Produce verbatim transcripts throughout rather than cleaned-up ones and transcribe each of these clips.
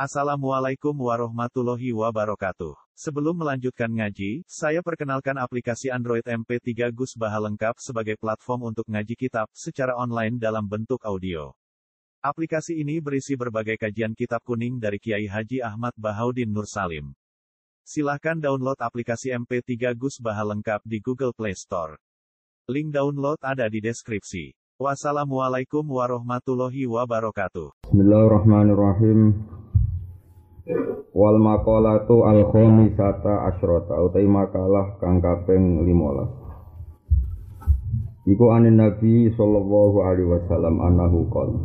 Assalamualaikum warahmatullahi wabarakatuh. Sebelum melanjutkan ngaji, saya perkenalkan aplikasi Android M P tiga Gus Baha lengkap sebagai platform untuk ngaji kitab secara online dalam bentuk audio. Aplikasi ini berisi berbagai kajian kitab kuning dari Kiai Haji Ahmad Bahaudin Nur Salim. Silahkan download aplikasi M P tiga Gus Baha lengkap di Google Play Store. Link download ada di deskripsi. Wassalamualaikum warahmatullahi wabarakatuh. Bismillahirrahmanirrahim. Wal maqalatu al khamisata asyrata utai makalah kang kaping lima belas. Iku anin Nabi sallallahu alaihi wasallam annahu qala.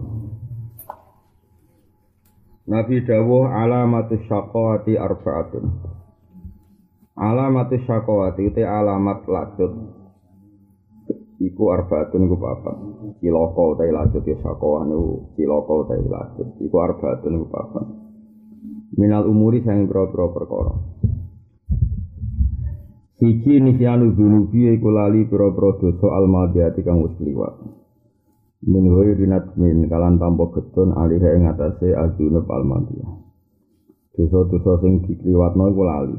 Nabi dawuh alamatus syaqawati arba'atun. Alamatus syaqawati utai alamat latut. Iku arba'atun iku papat. Cilaka utai latut ya syaqawah niku cilaka utai latut. Iku arba'atun iku papat. Minal umuri sang pira-pira perkara. Siji nisyanu dzunubi iku lali pira-pira dosa almadiyati kang wis kliwat. Min ghairinat min kalan tanpa getun alih ing atase adzunub almadiyah. Dosa-dosa sing dikliwatno iku lali.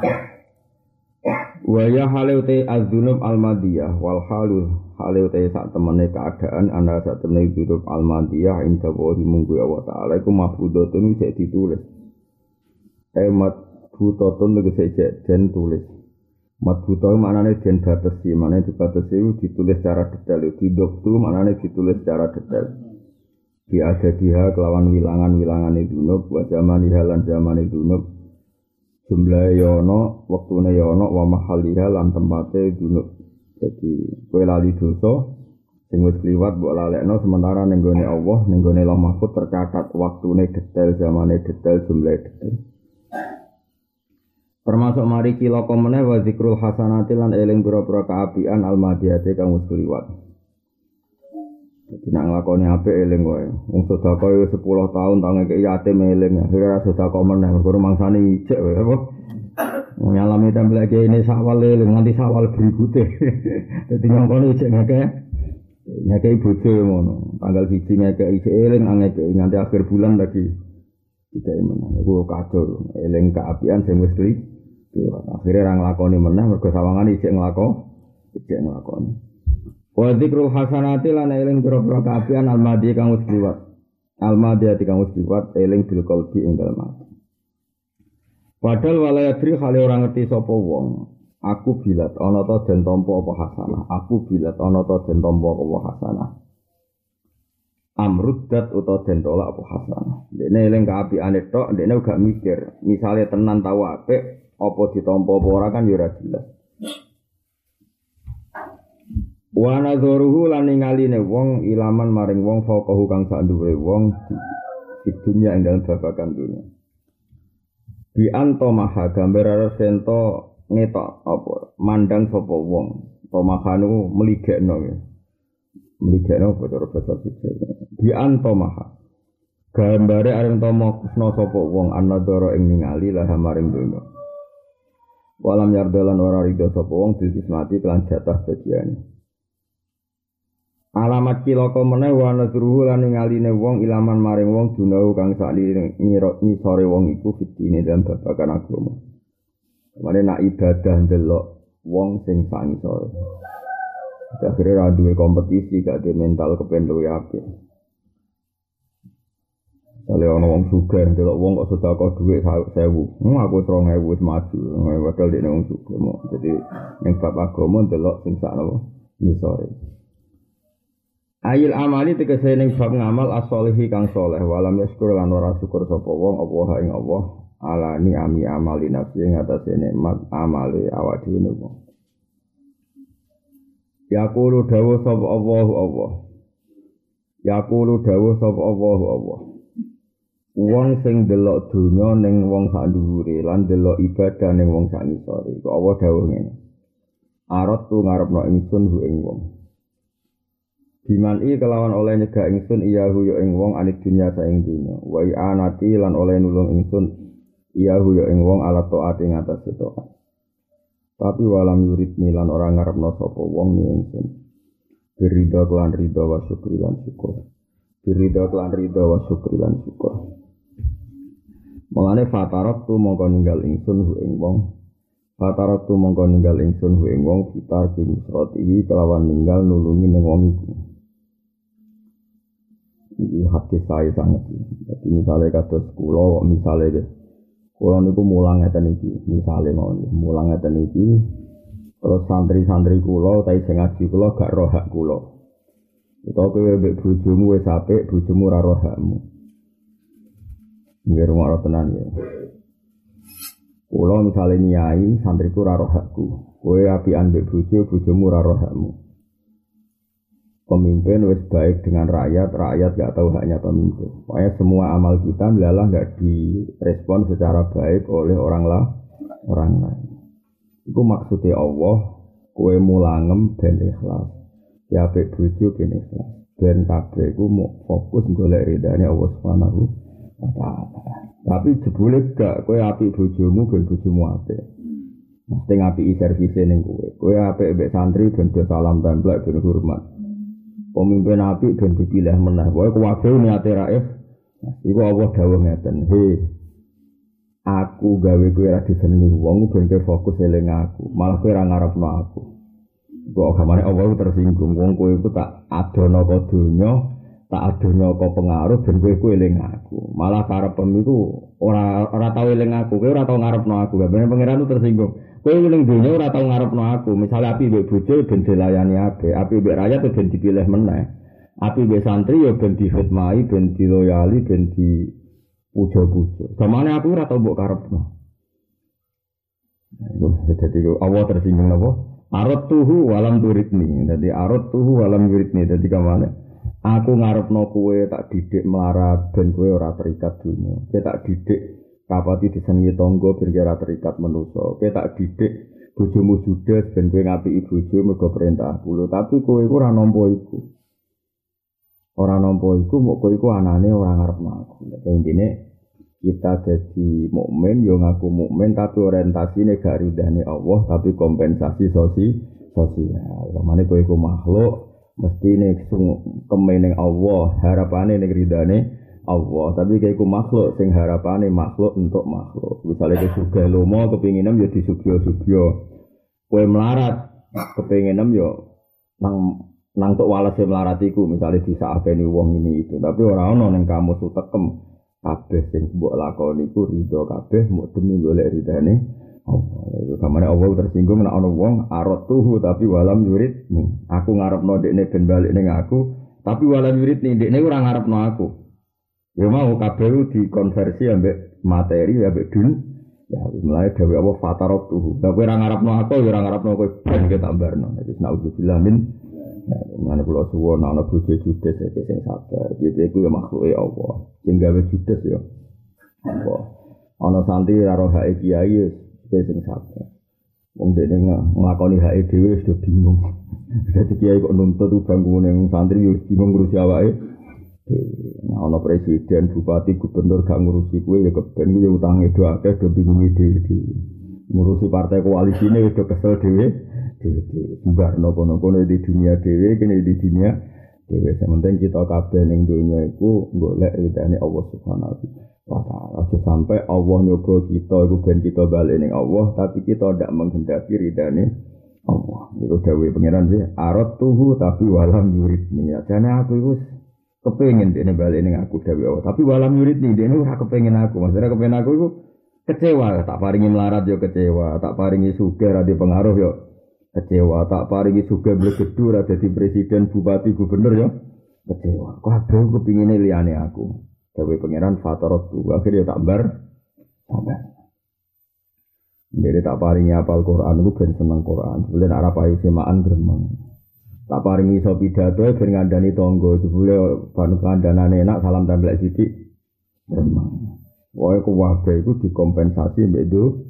Wa ya halu te adzunub almadiyah wal halu halu te sak temene keadaan ana sak temene dzunub almadiyah inda wa munggu Allah taala iku mahfudhatun wis ditulis. Emat butotun tegese jek den tulis. Mat buto maknane den batesi, maknane dibatesi ditulis secara detail, didoktu maknane ditulis secara detail. Di ada dia kelawan wilangan-wilangane dunub, wa zamani halan zamane dunub. Jumlahe yono, wektune yono, wa mahaliha lan tempate dunub. Jadi kowe lali dosa sing wis kliwat mbok lalekno sementara ning gone Allah, ning gone Lauh Mahfuz tercatat waktune detail, zamane detail, jumlahe detail. Termasuk mari cilaka meneh wa zikrul hasanati lan eling pira-pira kaapian almadiyate kang wis kliwat. Dadi nek nglakoni apik eling wae. Wong sedekah wis sepuluh tahun tangi ke yatim eling, akhire ra sedekah meneh mergo mangsane ijek wae apa. Wong nyalami templek kene sawal eling nganti sawal berikute. Dadi nyongkone ijek ngakeh. Ngakeh bojo ngono. Tanggal siji ngakeh ijek eling ngakeh nganti akhir bulan lagi. Tidak meneh iku kado eling kaapian sing wis kliwat. Akhirnya orang nglakoni meneh mergo sawangane isih nglakoni, isih nglakoni. Wa dzikrul hasanati lan eling pira-pira kaapian almadhi kang wis kliwat. Almadhi kang wis kliwat eling bil qalbi ing dalem ati. Padahal walayadri khali ora ngerti sapa wong. Aku bilat ana ta den tampa apa hasanah. Aku bilat ana ta den tampa apa hasanah. Amruddat utawa den tolak apa hasanah. Dene eling kaapiane tok, dene gak mikir. Misale tenan tau apik apa ditampa apa ora kan ya ora jelas. Wa nadzuruhu lan ningaline wong ilaman maring wong faqahu kang sak dhuwure wong di dunya ing dalem babagan dunya. Bi anto maha gambar sento ngetok apa mandang sapa wong. Tomahanu meligekno ya. Meligekno cara basa siji. Bi anto maha gambare areng tomo kusna sapa wong anadzara ing ningali lah maring dunya. Walam yardalan ora ridho sapa wong dismati kelan jatah bagiane. Alamat cilaka meneh wa nadruhu lan ningaline wong ilaman maring wong dunau kang sakli ngisore wong iku fitine dan babagan agama. Mane nak ibadah ndelok wong sing sak ngisore. Akhire ra duwe kompetisi gak de mental kepen luwe apik. Kale ana wong sugih delok wong kok sedekah dhuwit seribu. Hmm aku serong ewu wis maju. Padahal dekne wong sugih mok. Dadi ning bab agama delok sing sakno ngisore. Ayil amali tegese ning bab ngamal as-sholihi kang saleh walam yaskur lan ora syukur sapa wong apa ing Allah alani ami amali nafsi ing atase nikmat amale awak dhewe wong. Yaqulu dawuh sapa Allahu Allah. Yaqulu dawuh sapa Allahu Allah. Wong sing delok donya ning wong sak dhuwure lan delok ibadah ning wong sak ngisore. Kok Allah dawuh ngene. Arep tu ngarepno ingsun hu ing wong. Dimani kelawan oleh nyegah ingsun iyahu ya ing wong anik dunya saing dunya. Wa anati lan oleh nulung ingsun iyahu ya ing wong ala taat ing atas taat. Tapi walam yuridni lan ora ngarepno sapa wong ning ingsun. Ridha lan ridha wa syukur lan syukur. Ridha lan ridha wa syukur lan syukur. Mulane fatarok tu mongko ninggal ingsun hu ing wong. Fatarok tu mongko ninggal ingsun hu ing wong fitar ki nusratihi kelawan ninggal nulungi ning wong iku. Iki hati saya sangat. Jadi misalnya kados kula kok misale kula niku mulang ngeten iki, misale mawon mulang ngeten iki terus santri-santri kula utawi sing ngaji kula gak roh hak kula. Utawa kowe mbek bojomu wis apik, bojomu ora roh hakmu. Nggih rumah tenan ya. Kula misale nyai santriku ora roh hakku. Kowe apian mbek bojo, bojomu ora roh hakmu. Pemimpin wis baik dengan rakyat, rakyat gak tahu haknya pemimpin. Pokoknya semua amal kita adalah gak direspon secara baik oleh orang lah, orang lain. Itu maksudnya Allah, kowe mulangem ben ikhlas. Ya apik bojo ben ikhlas. Ben kabeh iku mau fokus golek ridane Allah Subhanahu wa taala. Tapi jebule gak kowe apik bojomu ben bojomu apik. Mesti ngapiki servise ning kowe. Kowe apik mbek santri ben do salam templek ben hormat. Pemimpin apik ben dipilih meneh. Pokoke kuwabe niate raif. Iku Allah dawuh ngeten, "He, aku gawe kowe ora disenengi wong ben kowe fokus eling aku, malah kowe ora ngarepno aku." Kok gamane Allah tersinggung wong kowe iku tak adono ka donya, tak adono ka pengaruh ben kowe kowe eling aku. Malah karepem iku ora ora tau eling aku, kowe ora tau ngarepno aku. Gamane pangeran itu tersinggung. Kowe ning donya ora tau ngarepno aku. Misale api mbek bojo ben dilayani apik, api mbek rakyat ben dipilih meneh. Api mbek santri ya ben dihormati, ben diloyali, ben di puja-puja. Gamane aku ora tau mbok karepno. Jadi Allah tersinggung napa? Arot tuhu walam turidni. Jadi arot tuhu walam yuridni. Jadi kamane? Aku ngarepno kowe tak didik melarat ben kowe ora terikat dunya. Kowe tak didik kapati disenengi tangga ben ora terikat manusa. Kowe tak didik bojomu judes ben kowe ngapiki bojo mergo perintah kula. Tapi kowe iku ora nampa iku. Ora nampa iku mok kowe iku anane ora ngarepno aku. Nek intine kita jadi mukmin yo ngaku mukmin tapi orientasine gak ridane Allah tapi kompensasi sosi sosial. Kamane kowe iku makhluk mestine kemening Allah, harapane ning ridane Allah. Tapi kowe iku makhluk sing harapane makhluk untuk makhluk. Misale kowe sugih lomo kepinginem yo disugih-sugih. Kowe melarat kepinginem yo nang nang tok walese melarat iku misale disakeni wong ini itu. Tapi ora ana ning kamu sutekem. Kabeh sing mbok lakoni iku ridho kabeh muk demi golek ridane Allah. Iku kamane Allah tersinggung nek ana wong arot tuhu tapi walam yurid nih. Aku ngarepno dekne ben balik ning aku, tapi walam yurid nih dekne ora ngarepno aku. Ya mau kabeh dikonversi ambek materi ambek dun. Ya mulai dhewe Allah fatarot tuhu. Lah kowe ora ngarepno aku ya ora ngarepno kowe ben ketambarno. Wis naudzubillah min mana pulau suwon, anak bojo judes ya sing sabar. Jadi aku ya makhluke Allah. Sing gawe judes ya Allah. Ana santri karo hake kiai ya sing sabar. Wong dene nglakoni hake dhewe wis do bingung. Dadi kiai kok nuntut bangkune santri yo bingung ngurusi awake. Nah, ana presiden, bupati, gubernur gak ngurusi kowe ya keben kuwi ya utange do akeh do bingung dhewe-dhewe. Ngurusi partai koalisine wis do kesel dhewe. Dewe Barno kono-kono di dunia dewe, kene di dunia dewe. Sementing kita kabeh ning dunia iku golek ridane Allah Subhanahu wa taala. Aja sampai Allah nyoba kita iku ben kita bali ning Allah, tapi kita ndak menghendaki ridane Allah. Niku dawuhe pangeran iki, arot tuhu tapi walam yuridni. Ya jane aku iku kepengin dene bali ning aku dawuhe Allah, tapi walam yuridni dene ora kepengin aku. Maksudnya kepengin aku iku kecewa, tak paringi melarat yo kecewa, tak paringi sugih ra di pengaruh yo kecewa, tak paringi sugih blegedu ra dadi presiden, bupati, gubernur ya kecewa. Kabeh kepingine liyane aku. Dewe pangeran fataratu, akhire tak bar sabar. Ndere tak paringi apal Quran iku ben seneng Quran. Jebule nek ora payu semaan gremeng. Tak paringi iso pidato ben ngandani tangga, jebule ban kandanane enak salam templek sithik gremeng. Wae kuwabe iku dikompensasi mbek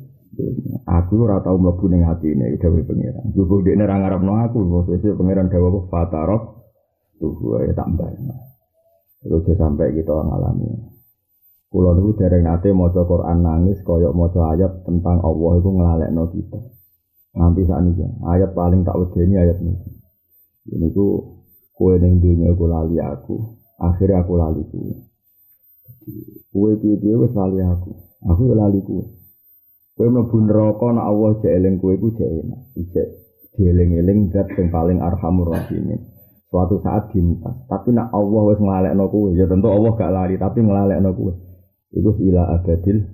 aku ora tau mlebu ning atine dhewe pangeran. Jupuk dekne ora ngarepno aku, sesuk pangeran dawuh fatarok tuh wae tambah. Iku aja sampai kita ngalami. Kula niku dereng nate maca Quran nangis kaya maca ayat tentang Allah iku nglalekno kita. Nganti sakniki ayat paling tak wedeni ayat niki. Niku kowe ning donya iku lali aku, akhire aku lali kowe. Kowe piye-piye wis lali aku. Aku yo lali kuwe. Kowe mlebu neraka nek Allah jek eling kowe iku jek enak. Ijek dieling-eling zat sing paling arhamur rahimin. Suatu saat dintas, tapi nek Allah wis nglalekno kowe, ya tentu Allah gak lari tapi nglalekno kowe. Iku ila abadil.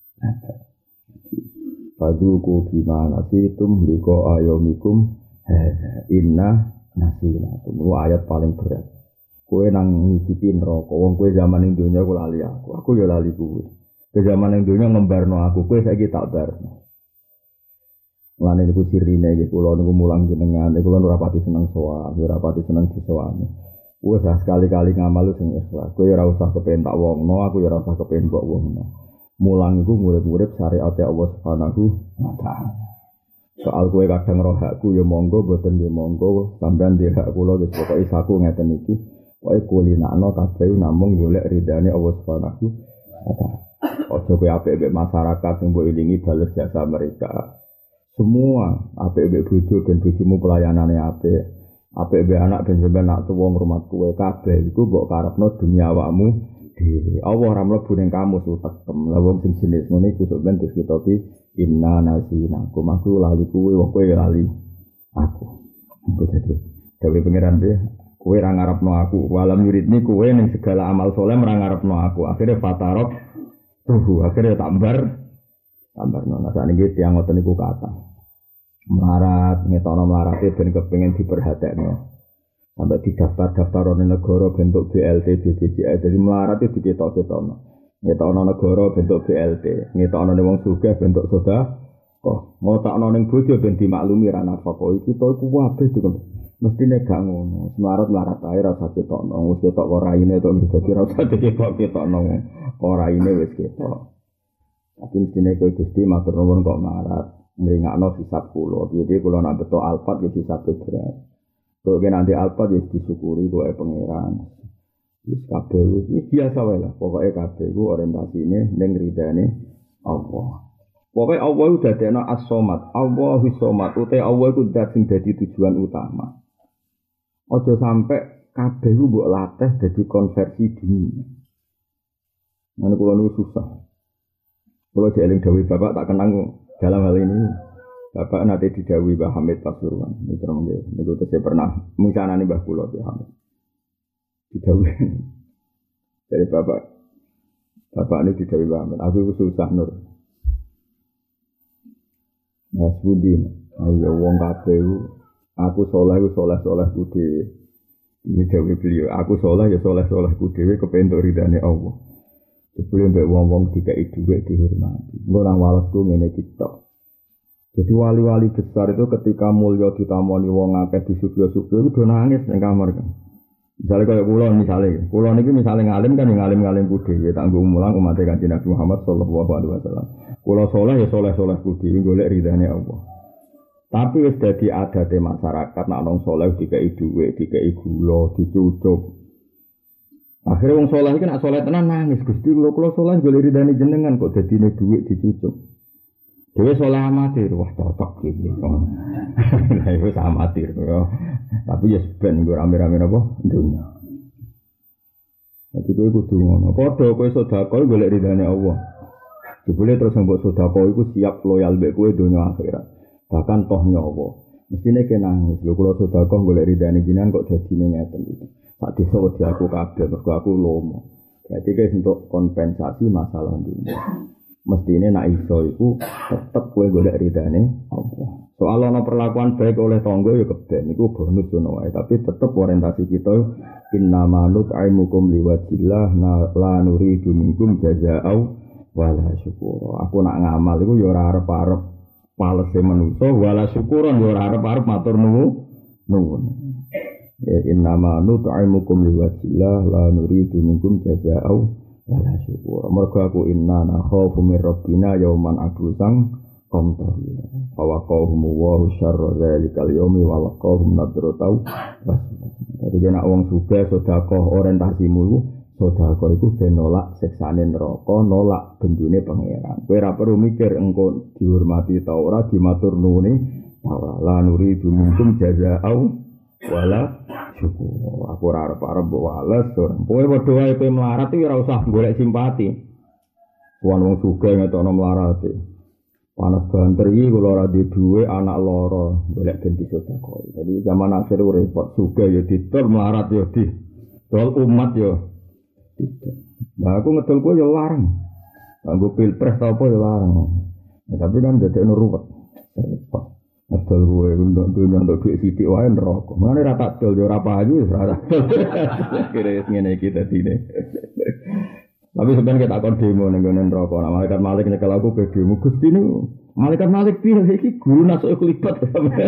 Faduku bima nasitum liko ayomikum inna nasinakum. Itu ayat paling berat. Kowe nang ngicipi neraka, wong kowe zaman ning donya kowe lali aku. Aku ya lali kowe. Ke zaman ning donya ngembarno aku, kowe saiki tak barno. Mulane niku sirine iki kula niku mulang jenengan, kula ora pati seneng sowan, ora pati seneng disowani. Wes sekali-kali ngamal sing ikhlas. Kowe ora usah kepen tak wongno, aku ora usah kepen mbok wongno. Mulang iku murid-murid syariat Allah Subhanahu wa taala. Soal kowe kadang roh hakku ya monggo, boten ya monggo, sampean dhe hak kula wis pokoke isaku ngeten iki. Pokoke kulinakno kabeh namung golek ridane Allah Subhanahu wa taala. Ojo kowe apik-apik masyarakat sing mbok ilingi bales jasa mereka. Semua apik-apik bojo ben bojomu pelayanane apik. Apik-apik anak ben sampeyan nak tuwa ngrumat kowe kabeh iku mbok karepno dunya awakmu dhewe. Allah ora mlebu ning kamu sutekem. Lah wong sing jenis ngene iku sampeyan dikitopi inna nasinakum. Aku lali kowe, wong kowe lali aku. Iku dadi dewe pangeran dhewe kowe ora ngarepno aku. Walam yuridni kowe ning segala amal saleh ora ngarepno aku. Akhire fatarok tuh akhire tambar tambar nona saat ini tiang ngoten niku kata melarat ngetono melarate ben kepengin diperhatekno sampai didaftar-daftarone negara bentuk B L T B P J S jadi melarat itu diketok-ketokno ngetono negara bentuk B L T ngetono wong sugih bentuk soda kok ngotakno ning bojo ben dimaklumi ra nafkah iki to iku kabeh diken mestine gak ngono melarat-melarat ae ra usah ketokno wis ketok kok raine to dadi ra usah diketok-ketokno kok raine wis ketok. Tapi mestine kowe Gusti matur nuwun kok marat ngringakno hisab kula. Piye-piye kula nak beto alfat ya hisab berat. Kok nanti alfat ya disyukuri kowe pangeran. Wis kabeh iki biasa wae lah. Pokoke kabeh iku orientasine ning ridane Allah. Pokoke Allah udah dadekno as-somad. Allahu somad. Ute Allah iku zat sing dadi tujuan utama. Aja sampe kabeh iku mbok latih dadi konversi dunia. Ngono kula niku susah. Kalau jeeling dawuh Bapak tak kenang dalam hal ini. Bapak nanti didhawuhi Mbah Hamid Pasuruan. Niku nggih, niku tesih pernah misanane Mbah kula Mbah Hamid. Didhawuhi. Dari Bapak. Bapak ini didhawuhi Mbah Hamid. Aku iku susah nur. Mas Budi, ayo wong kabeh aku saleh iku saleh-salehku dhewe. Iki dawuh beliau, aku saleh ya saleh-salehku dhewe kepentuk ridane Allah. Sebelum mbek wong-wong dikai dhuwit dihormati. Engko nang walesku ngene iki tok. Jadi wali-wali besar itu ketika mulya ditamoni wong akeh disugih-sugih iku do nangis ning kamar kan. Misale kaya kula misale, kula niki misale ngalim kan ngalim-ngalimku dhewe tak nggo mulang umat Kanjeng Nabi Muhammad sallallahu alaihi wasallam. Kula saleh ya saleh-salehku dhewe golek ridane Allah. Tapi wis dadi adate masyarakat nek wong saleh dikai dhuwit, dikai gula, dicucuk. Akhirnya wong saleh iki nek saleh tenan nangis, Gusti kula kula saleh golek ridane jenengan kok dadine dhuwit dicucuk. Dhewe saleh amatir, wah cocok iki. Lah iku amatir yo. Tapi ya ben nggo rame-rame apa dunya. Jadi kowe kudu ngono. Padha kowe sedekah golek ridane Allah. Jebule terus mbok sedekah iku siap loyal mbek kowe dunya akhirat. Bahkan toh nyawa. Mestine kena nangis. Lho kula sedekah golek ridane jenengan kok dadine ngeten iki. Sak desa wedi aku kabeh mergo aku lomo. Berarti guys untuk kompensasi masalah dunia. Mestine nek iso iku tetep kowe golek ridane Allah. Soal ana perlakuan baik oleh tangga ya keben iku bonus ngono wae, tapi tetep orientasi kita innama nut'imukum liwajillah la nuridu minkum jazaa'u wala syukura. Aku nak ngamal iku ya ora arep-arep palese manungsa wala syukuran ya ora arep-arep matur nuwun. Ya innama nut'imukum liwajillah la nuridu minkum jazaa'u wala syukur. Mergo aku inna nakhafu min rabbina yauman abusan qamtarira. Fa waqahum wa syarra dzalikal yaumi wa laqahum nadratau. Dadi nek wong sugih sedekah orientasimu sedekah iku ben nolak siksane neraka, nolak bendune pangeran. Kowe ora perlu mikir engko dihormati ta ora, dimatur nuwuni ta ora. La nuridu minkum jazaa'u wala syukur. Aku ora arep-arep mbok wales ora. Kowe padha wae kowe melarat iki ora usah golek simpati. Wong sugih ngetokno mlarate. Panas banter iki kula ora duwe duwe anak loro, golek ben disedekoi. Jadi zaman akhir repot sugih ya didol melarat ya di dol umat ya. Nah aku ngedol kuwi ya larang. Anggo pilpres ta apa ya larang. Ya, tapi kan dadekno ruwet. Repot. Ngedol kuwi untuk dunya untuk duit sithik wae neraka. Mane ra tak dol ya ora payu wis ora. Kira ngene iki dadine. Tapi sebenarnya kita akan demo ning ngene neraka. Nah, malaikat Malik nyekel aku pe demo Gusti niku. Malaikat Malik piye iki guru nasuk klipat.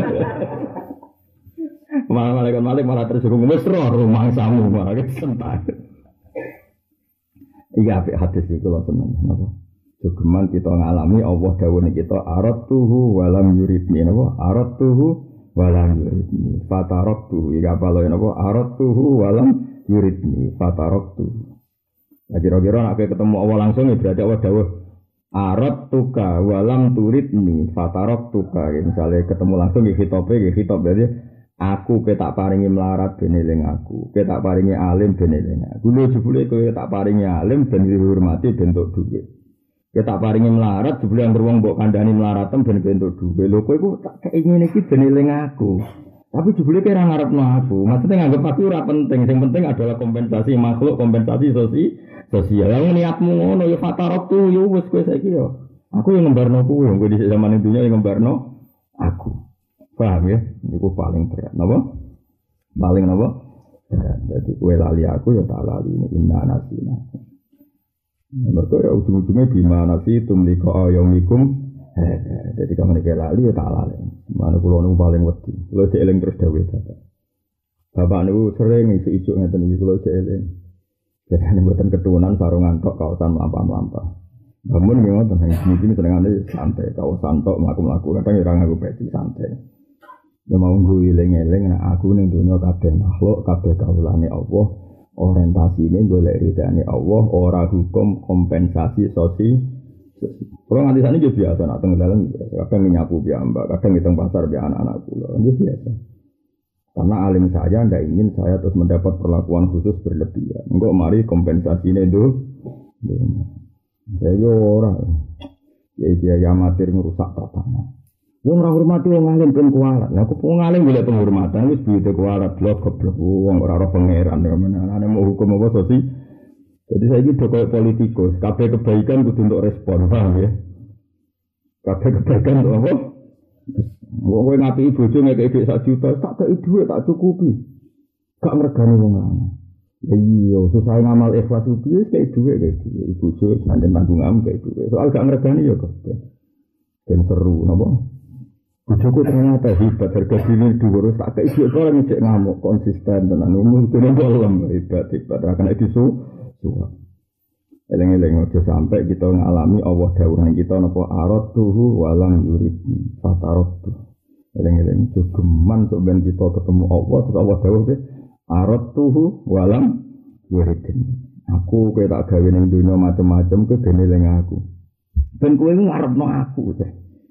Malah malaikat Malik malah tersinggung wis roh rumangsamu malah kesentak. Iya apik hadis iki kula seneng napa. Jogeman kita ngalami Allah dawuh kita aratuhu walam yuridni napa aratuhu walam yuridni fataraktuhu iki apa lho napa aratuhu walam yuridni fataraktuhu. Nah, kira-kira nak ketemu Allah langsung ya berarti Allah dawuh arat tuka walam turidni fatarok tuka. Misalnya ketemu langsung ya khitobe ya khitab berarti aku ke tak paringi melarat ben eling aku, ke tak paringi alim ben eling aku. Lho jebule kowe tak paringi alim ben dihormati bentuk dhuwit. Ke tak paringi melarat jebule anggere wong mbok kandhani melaratem ben bentuk dhuwit. Lho kowe iku tak keinginan iki ben eling aku. Tapi jebule kira ngarepno aku. Maksudnya nganggep aku ora penting. Yang penting adalah kompensasi makhluk, kompensasi sosial. Sosial. Yang niatmu ngono ya fatarok tu yo wis kowe saiki yo. Aku yang ngembarno kowe, kowe di zaman dunya yang ngembarno aku. Paham ya? Niku paling berat. Napa? Paling napa? Berat. Jadi kowe lali aku ya tak lali ini inna nasina. Mergo ya ujung-ujungnya bima nasi tumliko ayomikum. Jadi kamu nek lali ya tak lali. Mana kula niku paling wedi. Kula sik eling terus dawuh bapak. Bapak niku sering isu-isu ngeten iki kula sik eling. Jadi mboten keturunan sarungan tok kaosan mlampah-mlampah. Bangun nggih ngoten iki senengane santai kaosan tok mlaku-mlaku kadang ora nganggo peci santai. Ya mau nggo eling-eling nek aku ning donya kabeh makhluk kabeh kawulane Allah, orientasine golek ridane Allah, ora hukum kompensasi sosial. Kalau nganti sana juga biasa, nak tengah dalam kadang nyapu mbak, kadang ngitung pasar biar anak-anak pulau, ini biasa. Karena alim saya tidak ingin saya terus mendapat perlakuan khusus berlebihan. Enggak mari kompensasinya itu, saya orang, ya dia amatir merusak tatanan. Wong ora hormati wong alim ben kualat. Lah kok wong alim golek penghormatan wis duwite kualat blok goblok wong ora ora pangeran ana mau hukum apa sih. Jadi saya ini koyo politikus, kabeh kebaikan kudu untuk respon, paham ya? Kabeh kebaikan untuk apa? Wong kowe ngapi bojo ngekeki dhuwit sak juta, tak kei dhuwit tak cukupi. Gak ngregani wong lanang. Ya iya, susah ngamal ikhlas piye kei dhuwit kei dhuwit bojo santen tanggungan kei dhuwit. Soal gak ngregani ya kok. Ben seru napa? Bojoku ternyata hebat, harga diri dhuwur tak kei dhuwit kok ngecek ngamuk konsisten tenan. Umur dene bolong hebat hebat ra kena disu. Suwak. Eleng-eleng aja sampai kita ngalami Allah dawuhan kita napa aratuhu walam yuridni fataratu. Eleng-eleng jogeman sok ben kita ketemu Allah terus Allah dawuh ke aratuhu walam yuridni. Aku kowe tak gawe ning dunya macam-macam ke ben eling aku. Ben kowe ngarepno aku teh.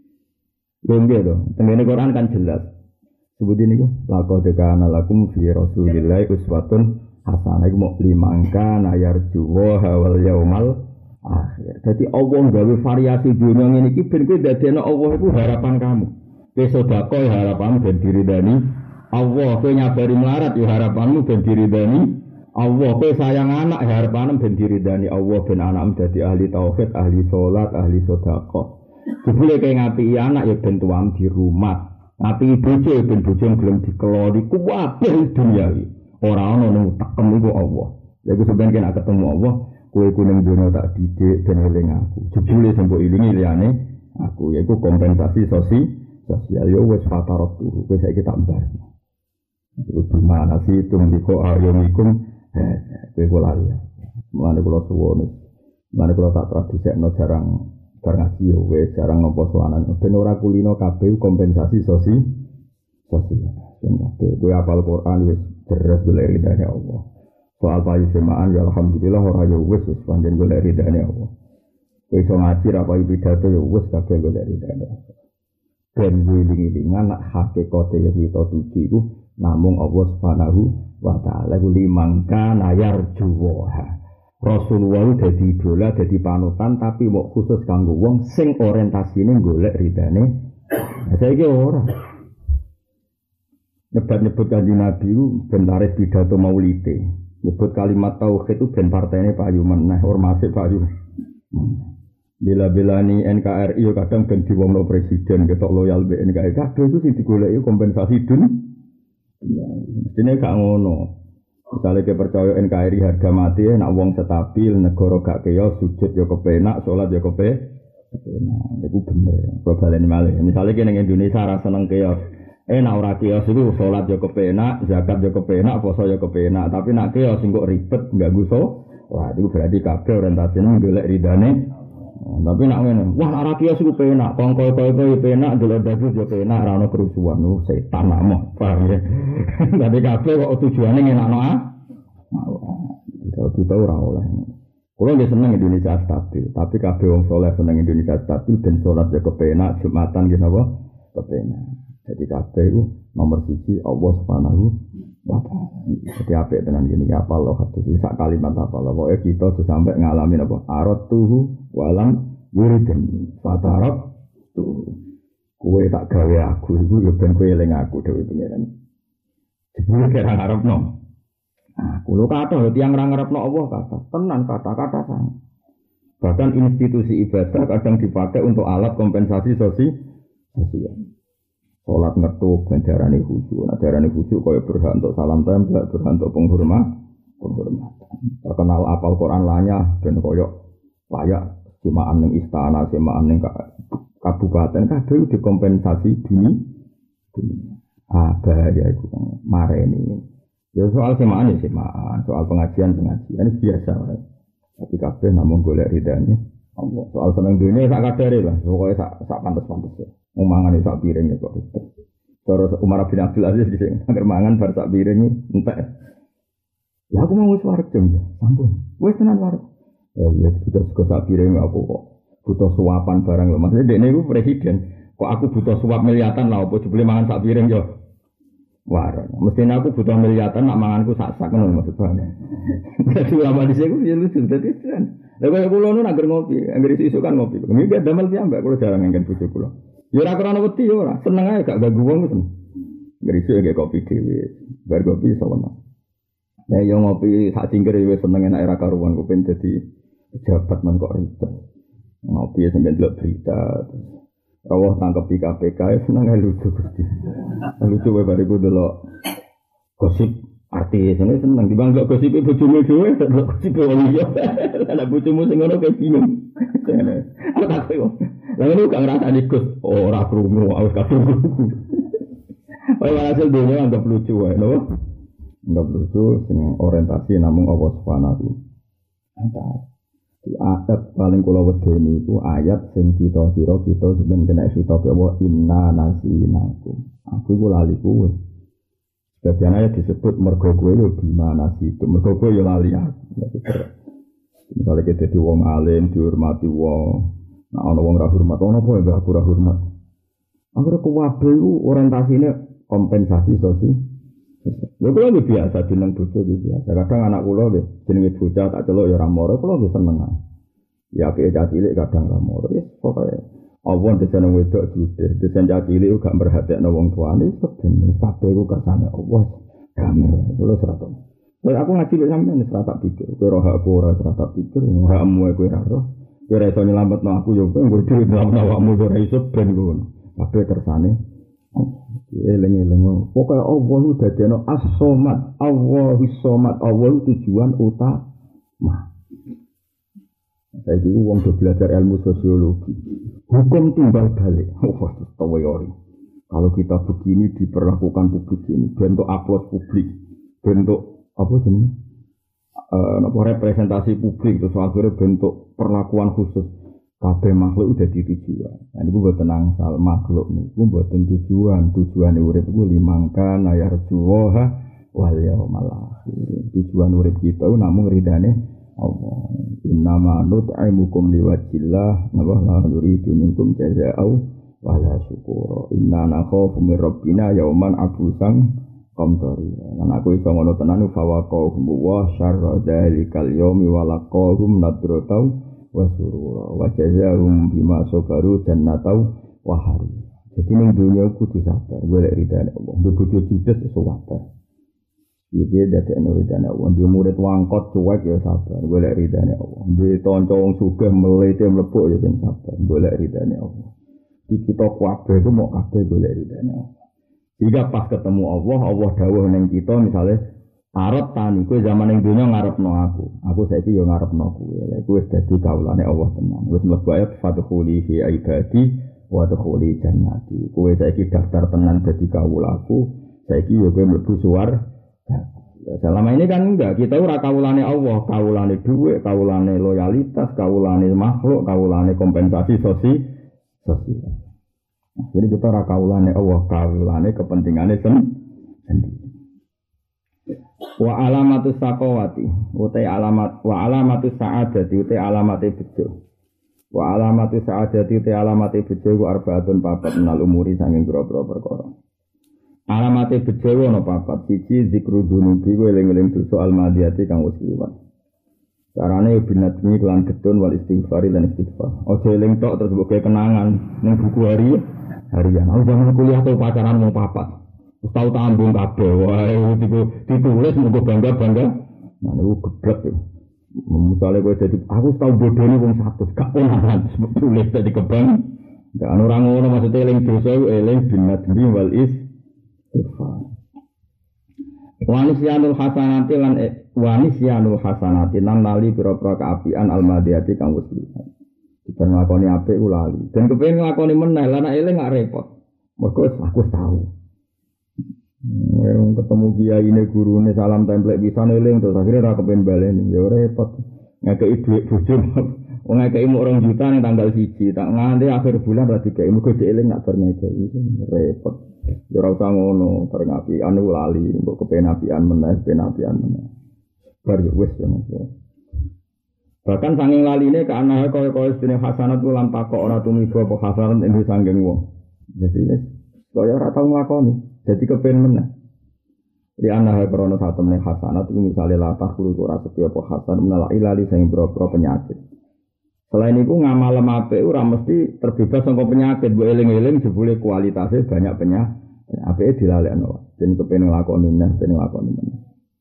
Lho nggih to, tengene Quran kan jelas. Sebutin niku laqad kana lakum fi rasulillahi uswatun hasanah iku mok limangka nayar juwa wal yaumal akhir. Dadi Allah gawe variasi dunya ngene iki ben kowe dadekno Allah iku harapan kamu. Kowe sedekah harapanmu ben diridani Allah, kowe nyabari melarat ya harapanmu ben diridani Allah, kowe sayang anak harapanmu ben diridani Allah ben anakmu dadi ahli tauhid, ahli salat, ahli sedekah. Jebule kowe ngapi anak ya ben tuang di rumah. Ngapi bojo ya ben bojo gelem dikeloni kuwabeh dunya iki. Ora ana nang tekem iku Allah. Ya iku sampeyan kena ketemu Allah, kowe kuning donya tak didik ben eling aku. Jebule sing mbok ilingi liyane aku, yaiku kompensasi sosial. Sosial yo wis fatarok turu, kowe saiki tak mbar. Iku gimana sih tumiko ayomikum eh kowe kula ya. Mulane kula suwun. Mulane kula tak tradisekno jarang bar ngaji yo wis jarang ngopo sowanan. Ben ora kulino kabeh kompensasi sosial. Sosial. Kabeh kowe hafal Quran wis terus golek ridane Allah. Soal payu semaan ya alhamdulillah ora yo wis wis pancen golek ridane Allah. Kowe iso ngaji ra payu pidato yo wis kabeh golek ridane Allah. Ben wiling-wilingan nak hakikate yang kita tuju iku namung Allah Subhanahu wa taala ku limangka nayar juwa. Rasulullah dadi idola, dadi panutan tapi mau khusus kanggo wong sing orientasine golek ridane. Nah, saiki ora. Nyebut-nyebut Kanjeng Nabi ku ben laris pidato maulide. Nyebut kalimat tauhid itu ben partene payu meneh, ormase payu. Bila-bilani N K R I kadang ben diwongno presiden ketok loyal be N K R I. Kabeh iku sing digoleki kompensasi dun. Ya, mestine gak ngono. Misalnya kita percaya N K R I harga mati, nak wong stabil, negara gak keos, sujud yo kepenak, sholat yo kepenak. Itu bener. Probalen malih. Misalnya kita ning Indonesia ra seneng keos. Eh nak ora keos iku sholat yo kepenak, zakat yo kepenak, poso yo kepenak. Tapi nak keos sing kok ribet, gak guso. Wah, itu berarti kabeh orientasine golek ridane. Tapi nak ngene, wah ora kios iku penak, kongko-kongko penak, delok dadu yo penak, ora ono kerusuhan, oh setan amoh, paham ya. Tapi kabeh kok tujuane ngenakno ah. Kalau kita ora oleh. Kulo nggih seneng Indonesia stabil, tapi kabeh wong saleh seneng Indonesia stabil ben salat yo kepenak, Jumatan nggih napa? Kepenak. Jadi kabeh iku nomor siji Allah Subhanahu wa taala. Jadi apik tenan ngene apa Allah hadis sak kalimat apa Allah pokoke kita sampe ngalami apa arot tuhu walam yuridni fatarab tu kowe tak gawe aku iku yo ben kowe eling aku dhewe pengiran. Jebule kira ngarepno. Nah, kulo kata tiyang ra ngarepno Allah kata, tenan kata-kata sang. Bahkan institusi ibadah kadang dipakai untuk alat kompensasi sosial. Sholat ngetuk, dan darani khusyuk. Nah darani khusyuk kaya berhak untuk salam tembak, berhak untuk penghormat, penghormatan. Terkenal apal Quran lanya, dan kaya layak semaan ning istana, semaan ning kabupaten, kabeh dikompensasi dunia. Ah bahaya itu kan, mareni. Ya soal semaan ya semaan, soal pengajian pengajian itu biasa. Tapi kabeh namun golek ridane Allah. Soal seneng dunia sak kadare lah, pokoke sak sak pantes-pantes. Mangan sak piring kok. Cara Umar bin Abdul Aziz di sini, agar mangan bar sak piring entek. Ya aku mau wis wareg jam ya, sampun. Wis tenan wareg. Ya iya butuh sego sak piring aku kok. Butuh suapan barang lho. Maksudnya dekne iku presiden. Kok aku butuh suap miliatan lah opo jebule mangan sak piring yo. Wareg. Mestine aku butuh miliatan nak manganku sak-sak ngono maksud bane. Dadi ulama di sini ya lucu dadi tenan. Lah kaya kula nu nak ngopi, anggere isuk kan ngopi. Nggih damel piyambak kula jarang ngengken bojo kula. Ya ora krana wedi ya ora, seneng ae gak ganggu wong ngono. Ngrisu ge kopi dhewe, bar kopi sono. Ya yo ngopi sak cingkir wis seneng enak era karuan kok ben dadi pejabat men kok ribet. Ngopi sampe ndelok berita. Rawuh tangkep di K P K seneng ae lucu Gusti. Lucu wae bariku delok gosip artis ini seneng dibang delok gosip bojomu dhewe, delok gosip wong liya. Lah bojomu sing ngono kaya bingung. Kok tak koyo. Lah ngono gak ngrasani Gus, ora krungu, wis kabeh. Wae hasil dunia anggap lucu wae, lho. Anggap lucu sing orientasi namung Allah Subhanahu wa taala. Ayat paling kula wedeni iku ayat sing kita kira kita sampeyan kena kitab apa inna nasinakum. Aku iku lali kuwe. Sebagian ayat disebut mergo kowe lho gimana sih itu mergo kowe yo lali aku. Misalnya kita di wong alim dihormati wong. Nah, ana wong ra hormat, ana apa ya aku ra hormat. Akhire kuwabe iku orientasine kompensasi sosial. Lha kula iki biasa jeneng bojo iki biasa. Kadang anak kula nggih jenenge bocah tak celuk ya ora moro, kula nggih seneng. Ya apike cah cilik kadang ra moro. Ya pokoke awon desen wedok judes, desen cah cilik gak merhatekno wong tuane, ben kabeh iku kersane Allah. Damai kula serata. Lha aku ngaji lek sampeyan serata pikir, kowe ora hak ora serata pikir, hakmu kowe ora roh. Kowe ra iso nyelametno aku ya kowe nggo dhewe nyelametno awakmu ora iso ben ngono. Kabeh kersane eling-eling pokoke Allah ku dadekno as-somad, Allahus somad, Allah tujuan utama. Saiki wong do belajar ilmu sosiologi. Hukum timbal balik. Oh, teori. Kalau kita begini diperlakukan publik ini, bentuk aplaus publik, bentuk apa jenenge? Eh, apa representasi publik terus akhirnya bentuk perlakuan khusus. Kabeh makhluk udah ditujuan. Nah niku mboten angsal makhluk niku mboten tujuan. Tujuane urip iku limangkan ayarjuha wal yaumal akhir. Tujuan urip kita namung ridane Allah. Innama nut'imukum liwajhillah wa la nuridu minkum jazaa'u wala syukura. Inna nakhafu min rabbina yauman abusan komtori. Lan aku iso ngono tenan fa waqahum wa syarra dzalikal yaumi wa laqahum nadratau wa surura wa jazaahum bima sabaru jannatau wa hari. Jadi ning dunya kudu sabar, golek ridane Allah. Ndek bojo judes iso sabar. Iki dadi ridane Allah. Ndek murid wangkot cuek ya sabar, golek ridane Allah. Ndek kanca wong sugih melete mlebuk ya sing sabar, golek ridane Allah. Iki kita kabeh ku mok kabeh golek ridane Allah. Jika pas ketemu Allah, Allah dawuh ning kita misalnya arep tani kowe zaman ning donya ngarepno aku. Aku saiki yo ngarepno kowe. Lha iku wis dadi kawulane Allah tenan. Wis mlebu ayat fadkhuli fi ibadi wa dkhuli jannati. Kowe saiki daftar tenan dadi kawulaku. Saiki yo kowe mlebu suwarga. Selama ini kan enggak, kita ora kawulane Allah, kawulane dhuwit, kawulane loyalitas, kawulane makhluk, kawulane kompensasi sosial. sosial. Jadi kita ora kawulane Allah, kawulane kepentingane sendiri. Wa alamatus saqawati, utai alamat wa alamatus sa'adati utai alamate bejo. Wa alamatus sa'adati utai alamate bejo ku arbaatun papat menal umuri sanging pira-pira perkara. Alamate bejo ana papat, siji zikru dzunubi ku eling-eling dosa almadiyati kang wis liwat. Carane binatmi lan getun wal istighfari lan istighfar. Aja eling tok terus mbok kenangan ning buku hari harian. Aku zaman kuliah tuh pacaran mau papat. Wis tau tambung kabeh. Wae ditulis monggo bangga-bangga. Nah niku geblek ya. Misale kowe dadi aku tau bodoni wong seratus gak ponakan tulis dadi kebang. Ndak ana ora ngono maksudnya eling dosa eling binatmi wal istighfar. Wanisyanul hasanati lan wanisyanul hasanati lan lali pira-pira kaapian almadiyati kang wis liwat. Ben nglakoni apik ku lali. Dan kepengin nglakoni meneh lan eling gak repot. Mergo aku tahu. Wong ketemu kiyaine gurune salam templek pisan eling terus akhire ora kepengin baleni. Ya repot. Ngekeki dhuwit bojo. Wong ngekeki mung rong juta ning tanggal siji, tak nganti akhir bulan ra dikeki mergo dieling nak bar ngekeki. Repot. Ya ora usah ngono, bareng apian ku lali, mbok kepengin apian meneh, kepengin apian meneh. Bar wis ya Mas. Bahkan sanging laline ke anake kaya-kaya sedene hasanat ku lan takok ora tumiba apa hasanat ing sanging wong. Jadi wis kaya ora tau nglakoni, dadi kepen meneh. Di anake krana satemene hasanat iku misale latah kulo ora setya apa hasan menala ilali sing boro-boro penyakit. Selain itu ngamal apik ora mesti terbebas saka penyakit, mbok eling-eling jebule kualitasnya banyak penyakit. Apike dilalekno. Den kepen nglakoni neh, ben nglakoni meneh.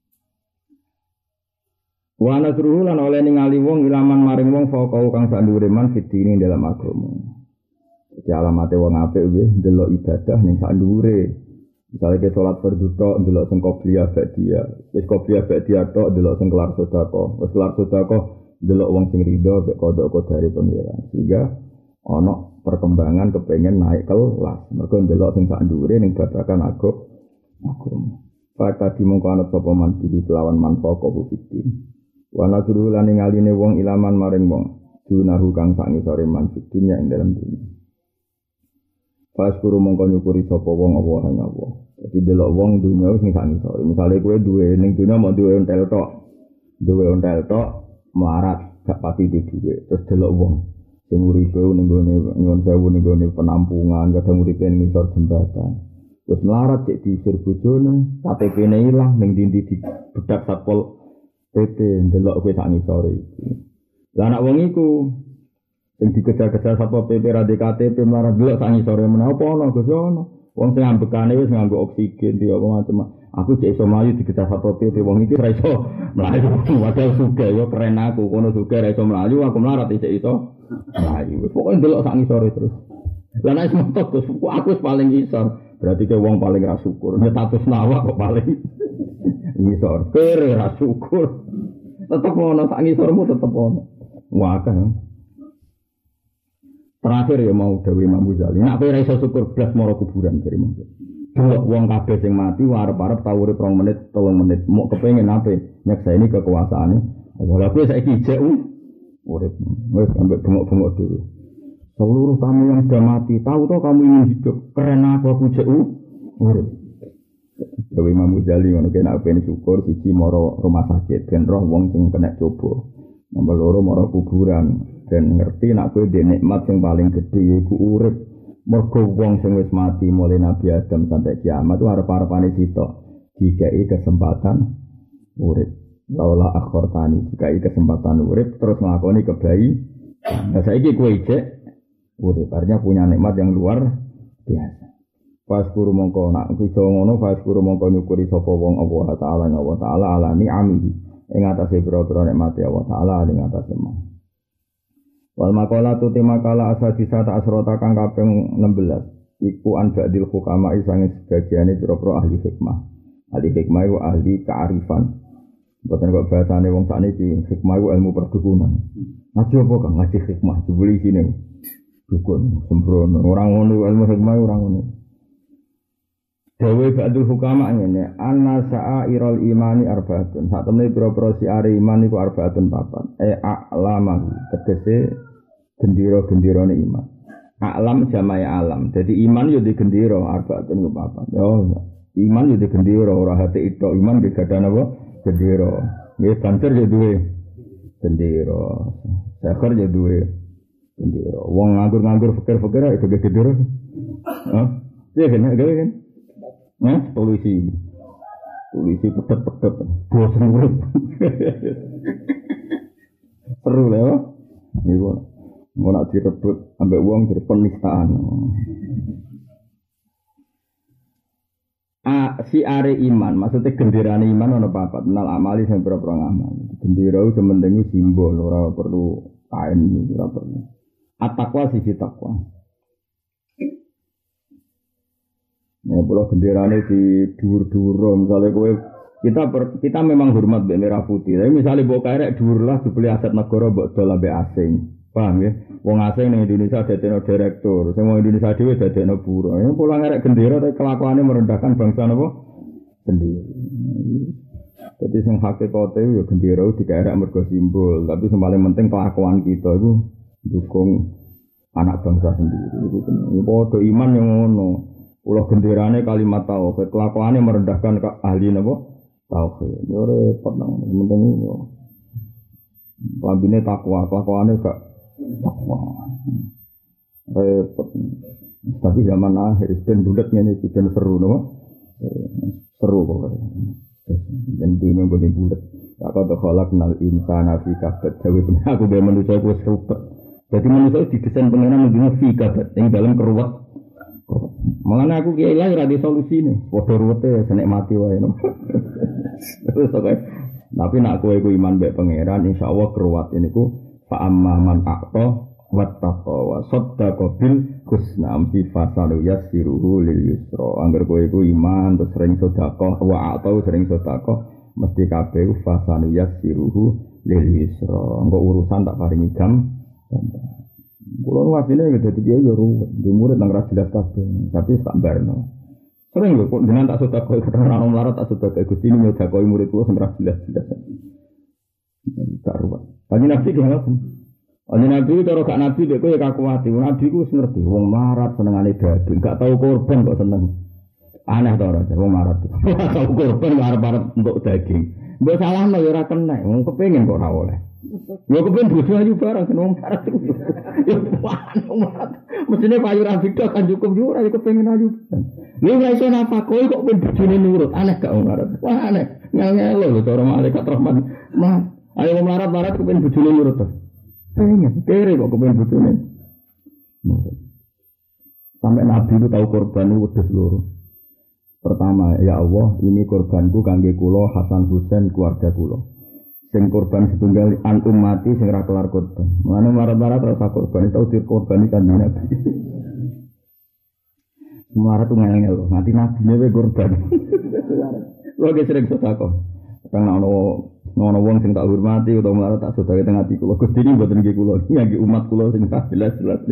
Wa nasruhu lan oleh ningali wong ilaman maring wong faqau kang sak dhuwure man fitine dalam agama. Jadi alamate wong apik nggih ndelok ibadah ning sak dhuwure. Misale ke salat fardhu tok ndelok sing qobliyah ba'diyah, wis qobliyah ba'diyah tok ndelok sing kelar sedekah, wis kelar sedekah ndelok wong sing rido mek kodok kodare pengiran. Sehingga ana perkembangan kepengen naik kelas. Mergo ndelok sing sak dhuwure ning babagan agama. Pakati mongko ana sapa man iki kelawan manfaat kok fitin. Wa nadru lan ngaline wong ilaman maring wong dunahu kang sak ngisore manfaatnya ing dalam dunia. Pas guru mongko nyukuri sapa wong apa ing apa. Dadi delok wong dunya sing sak ngisore. Misale kowe duwe ning dunya mau duwe ontel tok. Duwe ontel tok melarat gak pati di duwe. Terus delok wong sing uripe ning gone nyuwun sewu ning gone penampungan, kadang uripe ning ngisor jembatan. Terus melarat cek diusir bojone, K T P-ne ilang ning ndi-ndi di bedak Satpol P P ndelok kowe sak ngisore iki. Lah anak wong iku sing dikejar-kejar Satpol P P ra di K T P melarat delok sak ngisore menapa ana Gus ono. Wong sing ambekane wis nganggo oksigen di apa macam. Aku cek iso mlayu dikejar Satpol P P wong iki ora iso mlayu. Wadah sugih yo keren aku kono sugih ora iso mlayu aku melarat cek iso mlayu. Pokoke ndelok sak ngisore terus. Lah nek motot Gus aku wis paling ngisor. Berarti ke wong paling ra syukur. Nek status nawa kok paling ngisor. Kere ra syukur. Tetep ono sak ngisormu tetep ono. Wah kan. Terakhir ya mau dawuh Imam Ghazali. Nek kowe ra iso syukur blas mara kuburan jare monggo. Delok wong kabeh sing mati arep-arep tau urip rong menit, telung menit. Mok kepengin ape nyekseni kekuasaane. Ora kowe saiki jek urip. Wis ambek bengok-bengok dulu. Seluruh kamu yang sudah mati, tahu toh kamu ingin hidup. Keren aku aku jek urip. Dewe Imam Ghazali ngono kena ben syukur siji mara rumah sakit ben roh wong sing kena coba. Nomor loro mara kuburan dan ngerti nek kowe ndek nikmat sing paling gedhe iku urip. Mergo wong sing wis mati mulai Nabi Adam sampai kiamat itu arep-arepane sitok. dikai kesempatan urip. Laula akhortani dikai kesempatan urip terus nglakoni kebayi. Nah saiki kowe ijek urip artinya punya nikmat yang luar biasa. Pas guru mongko nak iso ngono pas guru mongko nyukuri sapa wong Allah taala Allah taala ala ni'amihi ing atase pira-pira nikmat Allah taala ing atase man. Wal maqala tu tema kala asadisa ta asrota kang kaping enam belas iku an ba'dil hukama isange sebagiane pira-pira ahli hikmah. Ahli hikmah iku ahli kearifan. Boten kok bahasane wong sakniki hikmah iku ilmu perdukunan. Ngaji apa kang ngaji hikmah jebule isine dukun sembrono. Orang ngono ilmu hikmah orang ngono. Dewe ba'dul hukama ngene, anna sa'irul imani arbaatun. Sak temene pira-pira siare iman iku arbaatun papat. E a'lama tegese gendera-genderane iman. A'lam jamae alam. Dadi iman yo di gendera arbaatun ku papat. Yo iman yo di gendera ora hati itu iman ge gadah napa? Gendera. Nggih banter yo duwe gendera. Sakar yo duwe gendera. Wong nganggur-nganggur fikir-fikir itu ge gendera. Hah? Iya kan, gawe kan? Nah, polisi, polisi pedet-pedet, bosan urip. Seru lah, ya. Ini gua mau nak direbut, ambek uang dari penistaan. Ah, si are iman, maksudnya genderane iman ono papat, menal amali sampai berapa amal. Gendera itu sementing simbol, ora perlu kain, ora perlu. At-taqwa sisi takwa. Ya, pulau genderane di dhuwur-dhuwur, misalnya kowe kita per, kita memang hormat mbek merah putih. Tapi misalnya mbok karek dhuwur lah dibeli aset negara mbok dol ambek asing. Paham ya? Wong asing ning Indonesia dadekno direktur, sing wong Indonesia dhewe dadekno buruh. Ya pulang karek gendera tapi kelakuane merendahkan bangsa napa? Sendiri. Jadi sing hakikate ya gendera dikarek mergo simbol, tapi sing paling penting kelakuan kita iku dukung anak bangsa sendiri. Iku padha iman yang ngono. Ulah genderane kalimat tauhid, kelakuane merendahkan ahli napa? Tauhid. Yo repot nang penting yo. Lambine takwa, kelakuane gak takwa. Repot. Tapi zaman akhir ben bulet ngene iki ben seru napa? Seru pokoke. Dan dene ngene bulet. Tak kok khalaqnal insana fi kabad. Dewe aku ben manusa iku seru. Jadi manusa didesain pengenan ngene fi kabad, ing dalam keruwet. Mengana aku kiai lah ora di solusi nih. Padha ruwete senek mati wae no. Terus tapi nak kowe iku iman mbek pangeran insyaallah keruwat niku fa amma man aqta wattaqa wa saddaqa bil husna amsi fasalu yasiruhu lil yusra. Angger kowe iku iman terus sering sedekah wa aqta sering sedekah mesti kabeh fasalu yasiruhu lil yusra. Engko urusan tak paringi gam. Kulo wasine nggih dadi kiai yo ruwet, di murid nang ra jelas kabeh, tapi tak barno. Sering lho kok jenengan tak sedekah kok ora ono mlarat tak sedekah Gusti ini nyedekah murid kulo sing ra jelas-jelas. Tak ruwet. Kanjeng Nabi ki ngono. Kanjeng Nabi cara gak nabi dek kowe ya kakuwati. Nabi ku wis ngerti wong mlarat senengane daging, gak tau korban kok seneng. Aneh to ora wong mlarat. Tau korban arep-arep untuk daging. Mbok salahno ya ora kena, wong kepengin kok ora oleh. Ya kepen bojo ayu barang wong mlarat iku. Ya wong mlarat. Mesine payu ra beda kan cukup yo ora kepengin ayu. Lha ora iso napa kowe kok ben bojone nurut. Aneh gak wong mlarat. Wah aneh. Ngel-ngelo lho cara malaikat rahman. Mah, ayo wong mlarat-mlarat kepen bojone nurut to. Pengen kere kok kepen bojone. Sampai Nabi itu tahu korban itu wedhus loro. Pertama, ya Allah, ini korbanku kangge kula Hasan Husain keluarga kula. Sing korban setunggal an ummati sing ra kelar korban. Mane marat-marat rasa korban tau dikorban kan Nabi. Marat tuh ngel-ngel lho, nanti Nabi ne korban. Lho ge sering sedekah. Kang ana ana wong sing tak hormati utawa marat tak sedekah teng ati kula. Gusti ini mboten nggih kula, nggih umat kula sing jelas-jelas.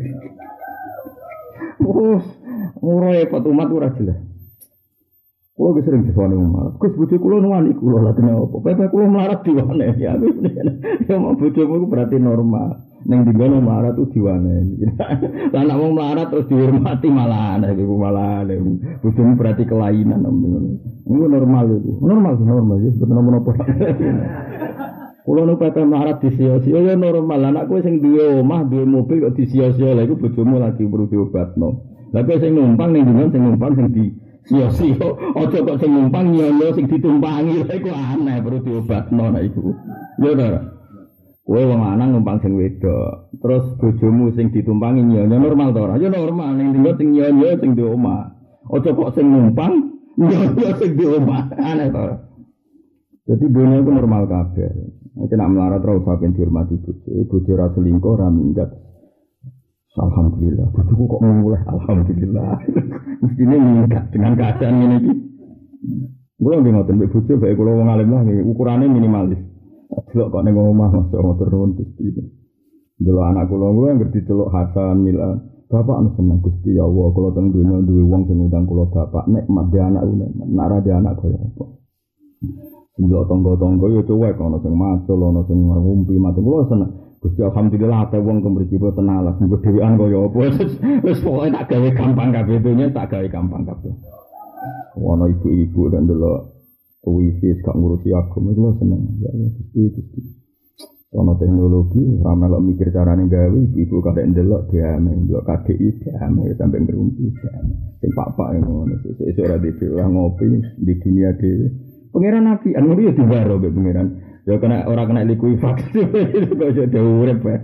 Oh, ora repot umat ora jelas. Kulo wis sering disone mlarat. Gus bojo kulo nuwani kulo lha kene apa? Pepe kulo mlarat diwane ya. Ya mau bojomu iku berarti normal. Ning dinggono mlarat ku diwane. Lah nek wong mlarat terus dihormati malah aneh iku malah aneh. Bojomu berarti kelainan ngono. Iku normal iku. Normal normal ya bener menapa. Kulo nu pepe mlarat disia-sia ya normal. Anak kowe sing duwe omah, duwe mobil kok disia-sia lha iku bojomu lagi perlu diobatno. Lah kowe sing numpang ning dinggon sing numpang sing di Sio-sio aja kok sing numpang nyonya sing ditumpangi lha iku aneh perlu diobatno nek iku. Ya ta. Kowe wong lanang numpang sing wedok, terus bojomu sing ditumpangi nyonya normal ta ora? Ya normal ning dinggo sing nyonya sing di omah. Aja kok sing numpang nyonya sing di omah. Aneh ta ora? Jadi dunia itu normal kabeh. Nek nak melarat ora usah ben dihormati bojo. Bojo ra selingkuh ra minggat. Alhamdulillah, bojoku kok mulai alhamdulillah. Mestine minggat dengan keadaan ngene iki. Kulo nggih ngoten mbek bojo bae kulo wong alim lah ukurane minimalis. Delok kok ning omah masuk motor nuwun Gusti. Delok anak kulo kuwi ngerti delok Hasan Milan. Bapak anu seneng Gusti ya Allah kulo teng dunya duwe wong sing ngundang kulo bapak nek mat de anak une, nek ra de anak kaya apa. Delok tangga-tangga yo cuwek ana sing macul ana sing ngumpi mati kulo seneng. Gusti alhamdulillah ate wong kemriki po tenalas nggo dhewean kaya apa. Wis pokoke tak gawe gampang kabeh dunya tak gawe gampang kabeh. Ana ibu-ibu dan delok wifi gak ngurusi agama itu seneng ya Gusti Gusti. Ana teknologi ra melok mikir carane gawe ibu kadek ndelok diame ndelok K D I diame sampe ngrumpi diame. Sing pak-pak ngono sesuk ora dhewe ngopi di dunia dhewe. Pangeran Nabi anu yo diwaro mbek pangeran. Ya kena ora kena likuifaksi kok aja urip bae.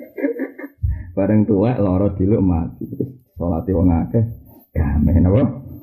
Bareng tuwek lara diluk mati. Salate wong akeh gamen apa?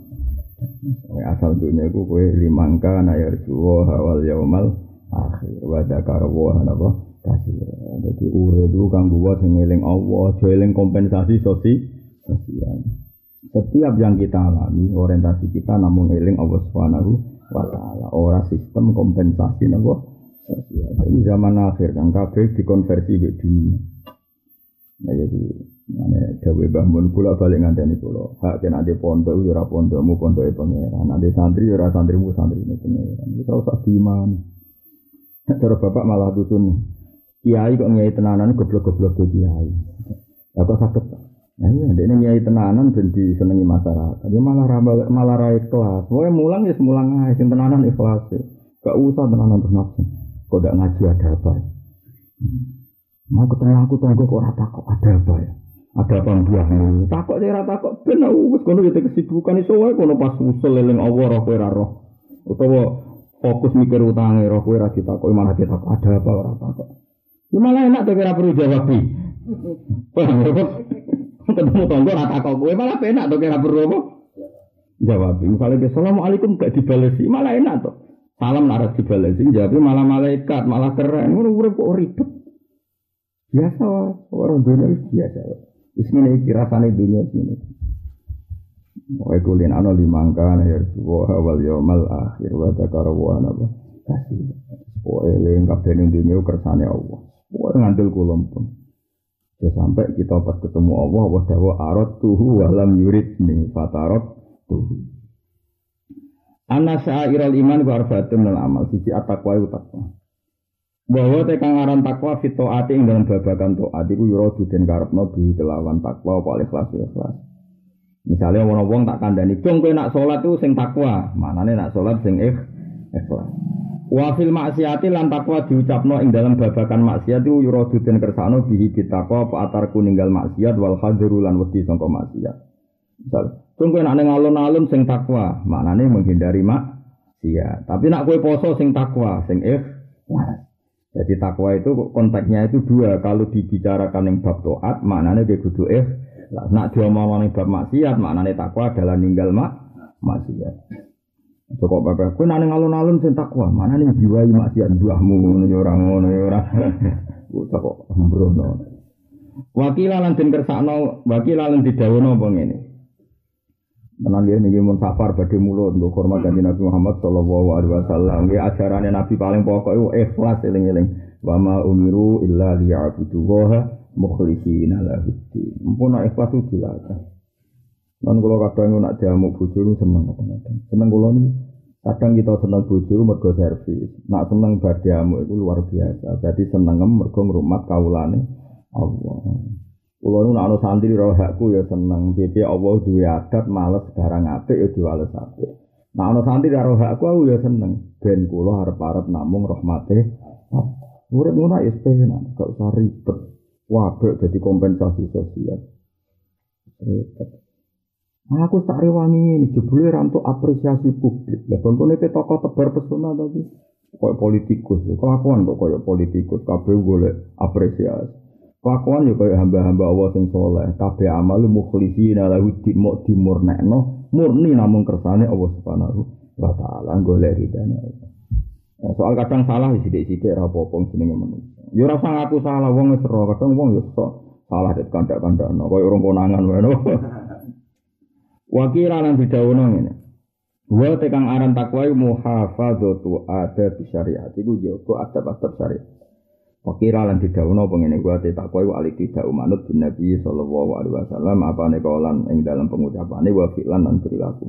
Asal dunia iku kowe limangka na yarjuwa hawal yaumal akhir wa dzakara wa napa kasih. Dadi urip iku kanggo wong sing eling Allah, aja eling kompensasi sosi sosial. Setiap yang kita alami, orientasi kita namun eling Allah Subhanahu wa taala, ora sistem kompensasi napa sosial. Jadi zaman akhir kan kabeh dikonversi ke dunia. Nah jadi mane dawuh Mbah Mun kula balik ngandani kula. Hak nek ade pondok yo ora pondokmu pondoke pangeran. Ade santri yo ora santrimu santrine pangeran. Wis ora usah diimani. Cara bapak malah dusun. Kiai kok nyai tenanan goblok-goblok ke kiai. Lah kok saged. Nah iya ndekne nyai tenanan ben disenengi masyarakat. Ya malah ra malah ra ikhlas. Pokoke mulang ya mulang ae sing tenanan ikhlas. Gak usah tenanan terus nafsu. Kok ndak ngaji ada apa ya? Mau ketemu aku tanggo kok ora takok ada apa ya? Ada apa mbuahmu? Takok sing ora takok ben wis kono yo kesibukan iso wae kono pas usul eling Allah roh kowe ora roh. Utawa fokus mikir utange roh kowe ora ditakoki malah ditakok ada apa ora takok. Ya malah enak to ora perlu jawab iki. Paham kok? Ketemu tanggo ora takok kowe malah enak to ora perlu apa? Jawab. Misalnya assalamualaikum gak dibalesi malah enak to. Salam nek dibalesi jawab malah malaikat malah keren. Ngono urip kok ribet. Biasa orang dunia biasa. Wis ngene iki rasane dunia sini. Wae kulen ana limangka ya wa wal yaumal akhir wa dzakara wa napa kasih. Wae ling kabeh ning dunia kersane Allah. Wae ngandel kula pun. Ya sampai kita pas ketemu Allah wa dawa arat tuhu wa lam yuridni fatarat tuhu. Ana sa'irul iman wa arfatun al amal siji at-taqwa wa taqwa. Bahwa tekan aran takwa fito ati ing dalam babagan taat iku yura duden karepno bi kelawan takwa apa ikhlas ikhlas. Misale ana wong tak kandhani, "Cung kowe nak salat iku sing takwa." Manane nak salat sing ikhlas. Wa fil maksiati lan takwa diucapno ing dalam babagan maksiat iku yura duden kersakno bi takwa apa atarku ninggal maksiat wal hadru lan wedi sangka maksiat. Misal, "Cung kowe nak ning alun-alun sing takwa." Manane menghindari maksiat. Tapi nak kowe poso sing takwa, sing ikhlas. Jadi takwa itu konteksnya itu dua. Kalau dibicarakan yang bab taat, maknanya dia kudu eh. Nak diomongin yang bab maksiat, maknanya takwa adalah ninggal mak maksiat. Cukup bapak, kau nane alun-alun sing takwa, maknanya jiwai maksiat buahmu, orang ngono orang. Cukup sembrono. Wakilan den kersakno, wakilan didawono apa ngene. Tenan nggih niki mun safar badhe mulut nggo hormat kanjeng Nabi Muhammad sallallahu alaihi wasallam. Nggih ajarane Nabi paling pokok iku ikhlas eling-eling. Wa ma umiru illa liya'budullaha mukhlishina lahu-d-din. Mumpun ikhlas itu dilatih. Lan kula kadang nak diamuk bojo seneng kadang-kadang. Seneng kula niku kadang kita seneng bojo mergo servis. Nak seneng bar diamuk iku luar biasa. Dadi senengem mergo ngrumat kawulane Allah. Kulo nu ana santri ro hakku ya seneng. Piye Allah duwe adat males barang apik ya diwales apik. Nah ana santri karo hakku aku ya seneng. Ben kula arep-arep namung rahmate. Urip ngono ya penak, gak usah ribet. Wae dadi kompensasi sosial. Ribet. Aku tak rewangi ini jebule ra entuk apresiasi publik. Lah bangkone ke tokoh tebar pesona tapi koyo politikus. Kelakuan kok koyo politikus, kabeh golek apresiasi. Kelakuan yo koyo hamba-hamba Allah sing saleh, kabeh amal mukhlisina lahu dimok dimurnekno, murni namung kersane Allah Subhanahu wa taala golek ridane Allah. Nah, soal kadang salah sithik-sithik ra apa-apa jenenge manusa. Yo ora usah ngaku salah wong wis ro, kadang wong yo sok salah det kandak-kandakno koyo urung konangan wae. Wakira lan didhawuhna ngene. Wa tekang aran takwa iku muhafadzatu adab syariat iku jaga adab-adab syariat. Wakira lan didhawuhna apa ngene wa takwa iku alik tidak manut bin Nabi sallallahu alaihi wasallam apane kaulan ing dalam pengucapane wa fi'lan lan perilaku.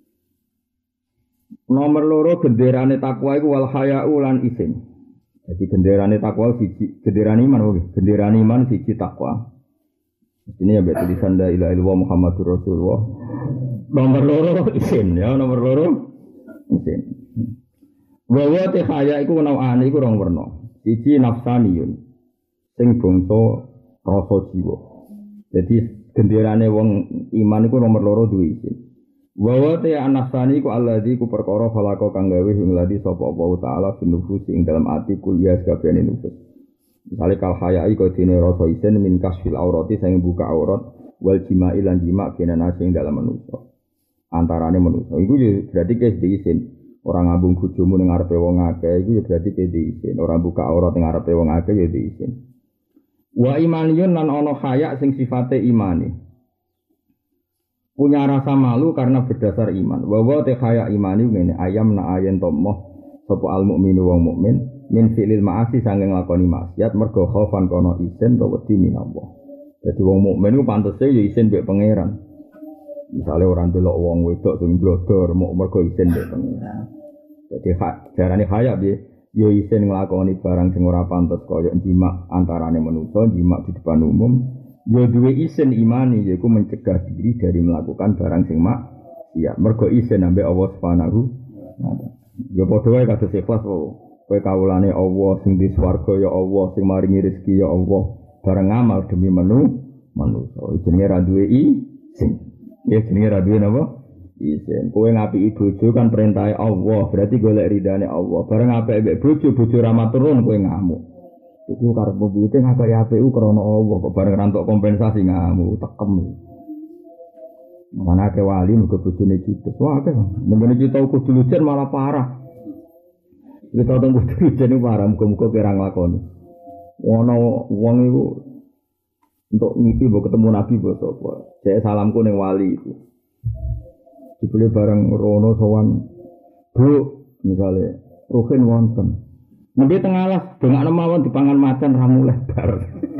Nomor loro genderane takwa iku wal haya'u lan isin. Jadi genderane takwa siji, genderane iman wae, genderane iman siji takwa. Ini ya tulisan la ilaha illallah Muhammadur Rasulullah. Nomor loro isin ya, nomor loro isin. Wa wa te haya iku nawane iku rong werna. Siji nafsaniyun sing bangsa rasa jiwa. Jadi genderane wong iman iku nomor loro duwe isin. Wa wa te nafsani iku alladzi ku perkara khalaqa kang gawe ing ladi sapa Allah taala finufus ing dalam ati kuliah kabehane nufus. Misalnya kal hayai kau dene rasa isen min kasfil aurati sing buka aurat wal jima'i lan jima' kena nasi dalam manusia antarane manusia iku berarti kes diisin orang ngambung bojomu ning ngarepe wong akeh iku berarti kes diisin orang buka aurat ning ngarepe wong akeh ya diisin wa imaniyun lan ana haya sing sifate imani punya rasa malu karena berdasar iman wa wa te haya imani ngene ayam na ayen tomoh sapa al mukminu wong mukmin min fi'lil ma'asi sanging lakoni maksiat mergo khaufan kono isen to wedi minallah. Dadi wong mukmin ku pantese ya isen mbek pangeran. Misale ora ndelok wong wedok sing blodor mok mergo isen mbek pangeran. Dadi hak jarane kaya piye ya isen nglakoni barang sing ora pantes kaya jimak antarane manusa, jimak di depan umum, ya duwe isen imani yaiku mencegah diri dari melakukan barang sing maksiat. Mergo isen ambek Allah Subhanahu wa taala. Ya padha wae kados ikhlas wae. Kowe kawulane Allah sing di swarga ya Allah sing maringi rezeki ya Allah bareng ngamal demi menu manusa jenenge ra duwe isin ya jenenge ra duwe napa isin kowe ngapiki bojo kan perintahe Allah berarti golek ridane Allah bareng apik mbek bojo bojo ra maturun kowe ngamuk iku karepmu piye ngakoni apik ku krana Allah kok bareng ra entuk kompensasi ngamuk tekem mana ke wali muga bojone judes wah akeh menene kita kudu lujen malah parah. Kita tunggu dulu jadi marah, muka-muka kira ngelakoni. Wana wong itu untuk ngipi, mau ketemu Nabi, buat apa? Saya salamku neng wali itu. Dibeli bareng Rono sowan, bu, misalnya, Ruhin wonten. Nanti tengah lah, dengan nemawan dipangan macan ramu lebar.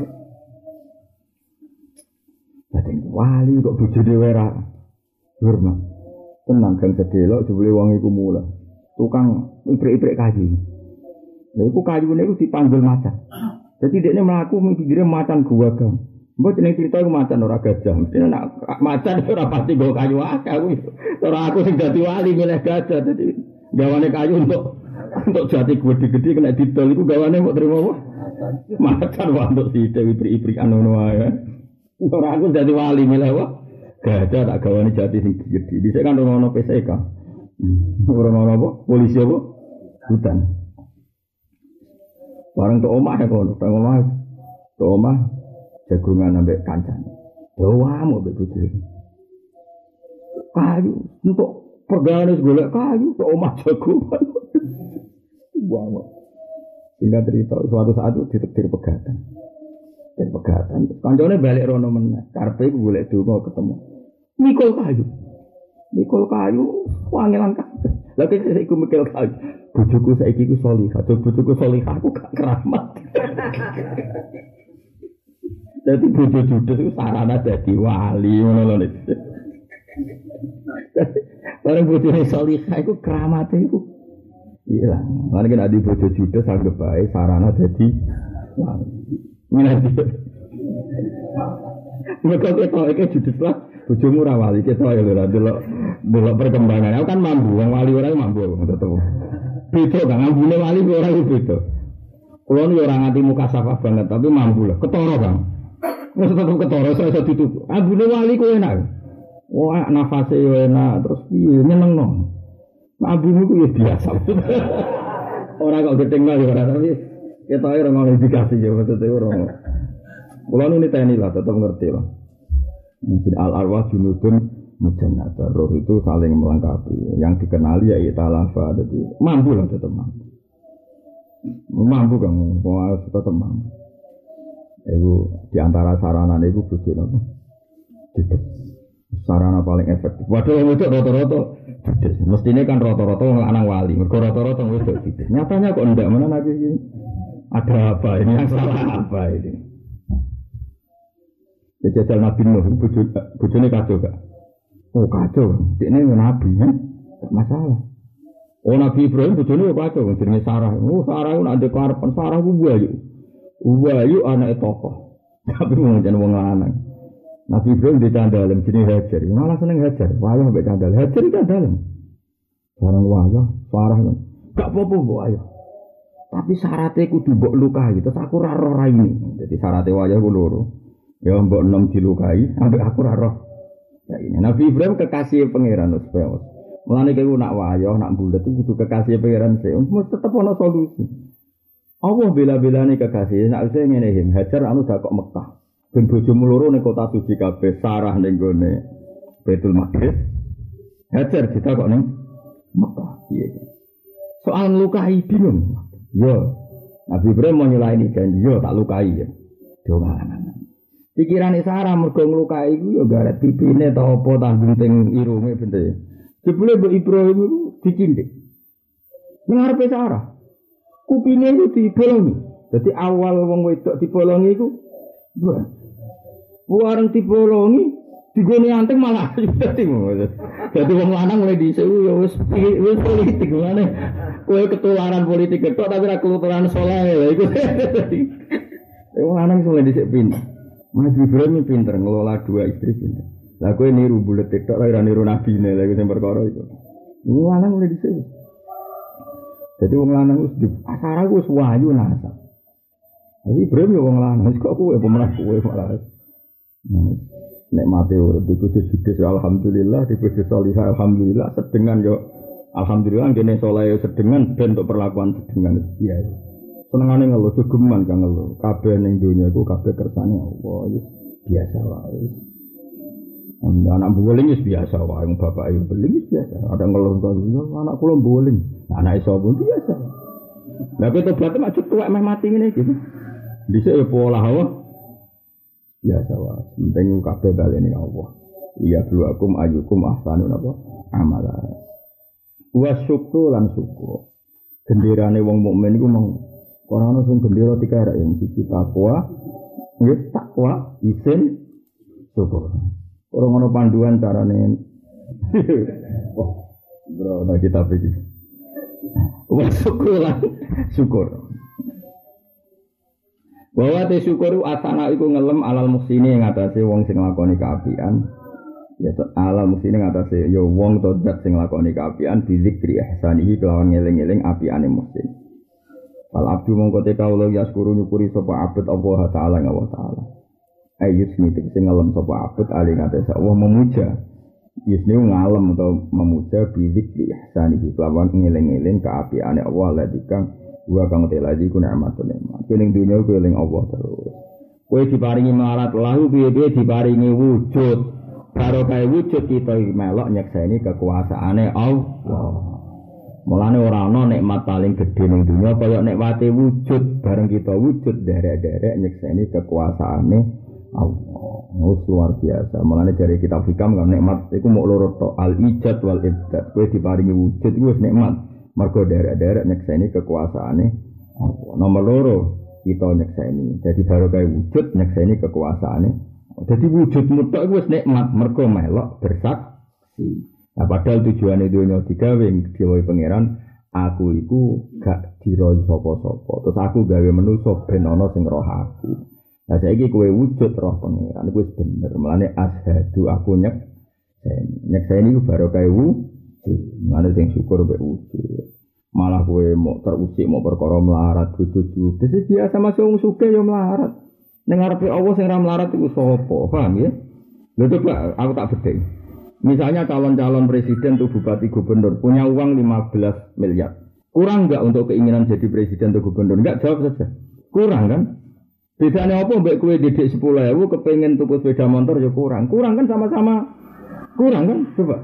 Jadi wali kok bujudi wera, hormat. Tenang kan sedelok, dibeli wong itu mulai. Tukang iprik-iprik kayu. Lha iku kayune iku dipanggil macan. Jadi dekne mlaku mikire macan gua gang. Mbok jeneng cerita iku macan ora gajah. Mesti nek macan ora pasti go kayu akeh aku. Ora aku sing dadi wali milih gajah. Dadi gawane kayu untuk untuk jati gede-gede kena didol iku gawane mbok trimo apa? Macan wae untuk sithik iprik-iprikan ngono wae. Ora aku dadi wali milih apa? Gajah tak gawane jati sing gede. Dhisik kan ono P S K. Orang-orang apa? Polisi apa? Hutan. Barang ke omah ya kono, ke omah, ke omah jagungan ambek kancane. Doa mau begitu. Kayu untuk perganis golek kayu ke omah jagungan. Wah, sehingga cerita suatu saat itu ditektir pegatan. Dan pegatan, kancane balik rono meneh. Karepe golek donga ketemu. Mikul kayu. Mikul kayu, wangilan kabeh. Lagi saya ikut mikul kayu. Bojoku saiki ku salihah, bojoku salihah aku gak keramat. Jadi bojo judes itu sarana dadi wali ngono lho. Bareng bojone salihah iku keramate iku. Iya, lan nek adi bojo judes anggap bae sarana dadi wali. Minati. Mereka ketok iki judes lah. Bojomu ora wali ketok ya lho delok delok perkembangan. Aku kan mambu, wong wali ora mambu tetep. Beda kan ambune wali ora beda. Kulo yo ora nganti muka safah banget tapi mambu lah. Ketara, Bang. Wis tetep ketara iso ditutup. Ambune wali ku enak. Wah, nafase yo enak terus piye nyenengno. Nabimu ku ya biasa. Ora kok gedeng kok ora tapi ketoke ora ngono dikasih ya maksudnya ora. Kula nu niteni lah tetep ngerti lah. Mungkin al-arwah junudun mujannata. Roh itu saling melengkapi. Yang dikenali ya italafa jadi mampu lah tetep mampu. Mampu kan kok tetep mampu. Iku di antara sarana niku bojo napa? Dides. Sarana paling efektif. Waduh wedok rata-rata dides. Mestine kan rata-rata wong lanang wali. Mergo rata-rata wedok dides. Nyatanya kok ndak mana lagi iki? Ada apa ini? Yang salah apa ini? Jajal Nabi Nuh bojo bojone kacau gak? Oh kacau. Dekne nabi ya. Gak masalah. Oh Nabi Ibrahim bojone kacau jenenge Sarah. Oh Sarah ku nak ndek karepen Sarah ku wayu. Wayu anake tokoh. Tapi wong jan wong lanang. Nabi Ibrahim dicandalem jenenge Hajar. Malah seneng Hajar. Wayah mbek candal. Hajar iki candalem. Barang wayah, Sarah kan. Gak apa-apa mbok ayo. Tapi syaratnya kudu mbok lukai. Terus aku ora roh raine. Dadi syaratnya wayah ku loro. Ya mbok enom dilukai, ambek aku ora roh. Ya ini Nabi Ibrahim kekasih pangeran wis bae. Mulane kowe nak wayah, nak bulet itu kudu kekasih pangeran sih. Mesti tetep ana solusi. Allah bela-belane kekasih, nak wis ngene him, Hajar anu dak kok Mekah. Ben bojomu loro ning kota suci kabeh, Sarah ning gone Baitul Maqdis. Hajar ditakok ning Mekah. Piye? Soal lukai bingung. Yo. Nabi Ibrahim mau nyulaini janji yo tak lukai ya. Doa. Pikirane Sarah mergo nglukai iku ya garet pipine ta apa tanggung teng irunge bente. Jebule Mbok Ibrahim iku dicindik. Nang arepe Sarah. Kupine iku dibolongi. Dadi awal wong wedok dibolongi iku wah. Wareng dibolongi digone anteng malah dadi ngono. Dadi wong lanang mulai dhisik ya wis wis politik ngene. Kowe ketularan politik ketok tapi ra ketularan saleh lha iku. Wong lanang mulai dhisik pin. Mas Ibrahim pinter ngelola dua istri pinter. Lah kowe niru bulet tok ora niru nabine lha iku sing perkara iku. Wong lanang mulai dhisik. Dadi wong lanang wis di asara wis wayu nasa. Tapi Ibrahim yo wong lanang kok kowe pemenang kowe malah. Nek mate urip di bojo judes alhamdulillah, di bojo salihah alhamdulillah, sedengan yo alhamdulillah ngene saleh sedengan ben untuk perlakuan sedengan biasa. Senengane ngeluh gegeman kang ngeluh. Kabeh ning donya iku kabeh kersane Allah, wis biasa wae. Anak boling wis biasa wae, wong bapak ayo boling wis biasa. Ada ngeluh kok anak kula boling. Anak iso pun biasa. Lah kowe tobat mak tuwek meh mati ngene iki. Dhisik ya pola hawa. Biasa wae. Penting kabeh baleni Allah. Liya bluakum ayyukum ahsanu napa amala. Wa syukru lan syukur. Genderane wong mukmin iku mung ora ono sing gendera tikarek yang siji takwa, nggih takwa, isin, syukur. Ora ono panduan carane. Oh, bro, nah kita pikir. Wah, syukur lah, syukur. Bahwa te syukur asana iku ngelem alal muksini ing atase wong sing nglakoni kaapian. Ya alal muksini ing atase ya wong to zat sing nglakoni kaapian bizikri ihsanihi kelawan ngeling-eling apiane muksin. Al abdu mongko te kawula yaskuru nyukuri sapa abet Allah taala Allah taala. Ayus nitik sing ngalem sapa abet ali ngatesa Allah memuja. Yusni ngalem atau memuja bidik di ihsanihi kelawan ngeling-eling kaapiane Allah ladikang wa kang telaji ku nikmatun nikmat. Keling dunya ku eling Allah terus. Kowe diparingi melarat lahu piye-piye diparingi wujud. Karo kae wujud kita melok nyekseni kekuasaane Allah. Mulane ora ana nikmat paling gedhe ning dunya kaya nikmate wujud bareng kita wujud derek-derek nyekseni kekuasaane Allah. Wis luar biasa. Mulane jare kitab hikam kan nikmat iku mung loro tok al ijad wal ibdad. Kowe diparingi wujud iku wis nikmat. Mergo derek-derek nyekseni kekuasaane Allah. Nomor loro kita nyekseni. Jadi baru kaya wujud nyekseni kekuasaane. Jadi wujud mutlak iku wis nikmat mergo melok bersaksi. Nah padahal tujuannya dunia digawe digawe pangeran aku iku gak diroi sapa-sapa terus aku gawe manusa ben ana sing roh aku. Lah saiki kowe wujud roh pangeran iku wis bener melane ashadu aku nyek nyekseni iku baru kae wujud mane sing syukur mek wujud malah kowe mau terusik mau perkara melarat wujud dadi biasa masuk wong sugih ya melarat ning ngarepe Allah sing ra melarat iku sapa paham ya lho coba aku tak bedhek. Misalnya calon-calon presiden atau bupati gubernur punya uang lima belas miliar. Kurang enggak untuk keinginan jadi presiden atau gubernur? Enggak, jawab saja. Kurang kan? Bedanya apa mbak kue didik sepuluh ribu kepengen tuku sepeda motor ya kurang. Kurang kan sama-sama kurang kan? Coba.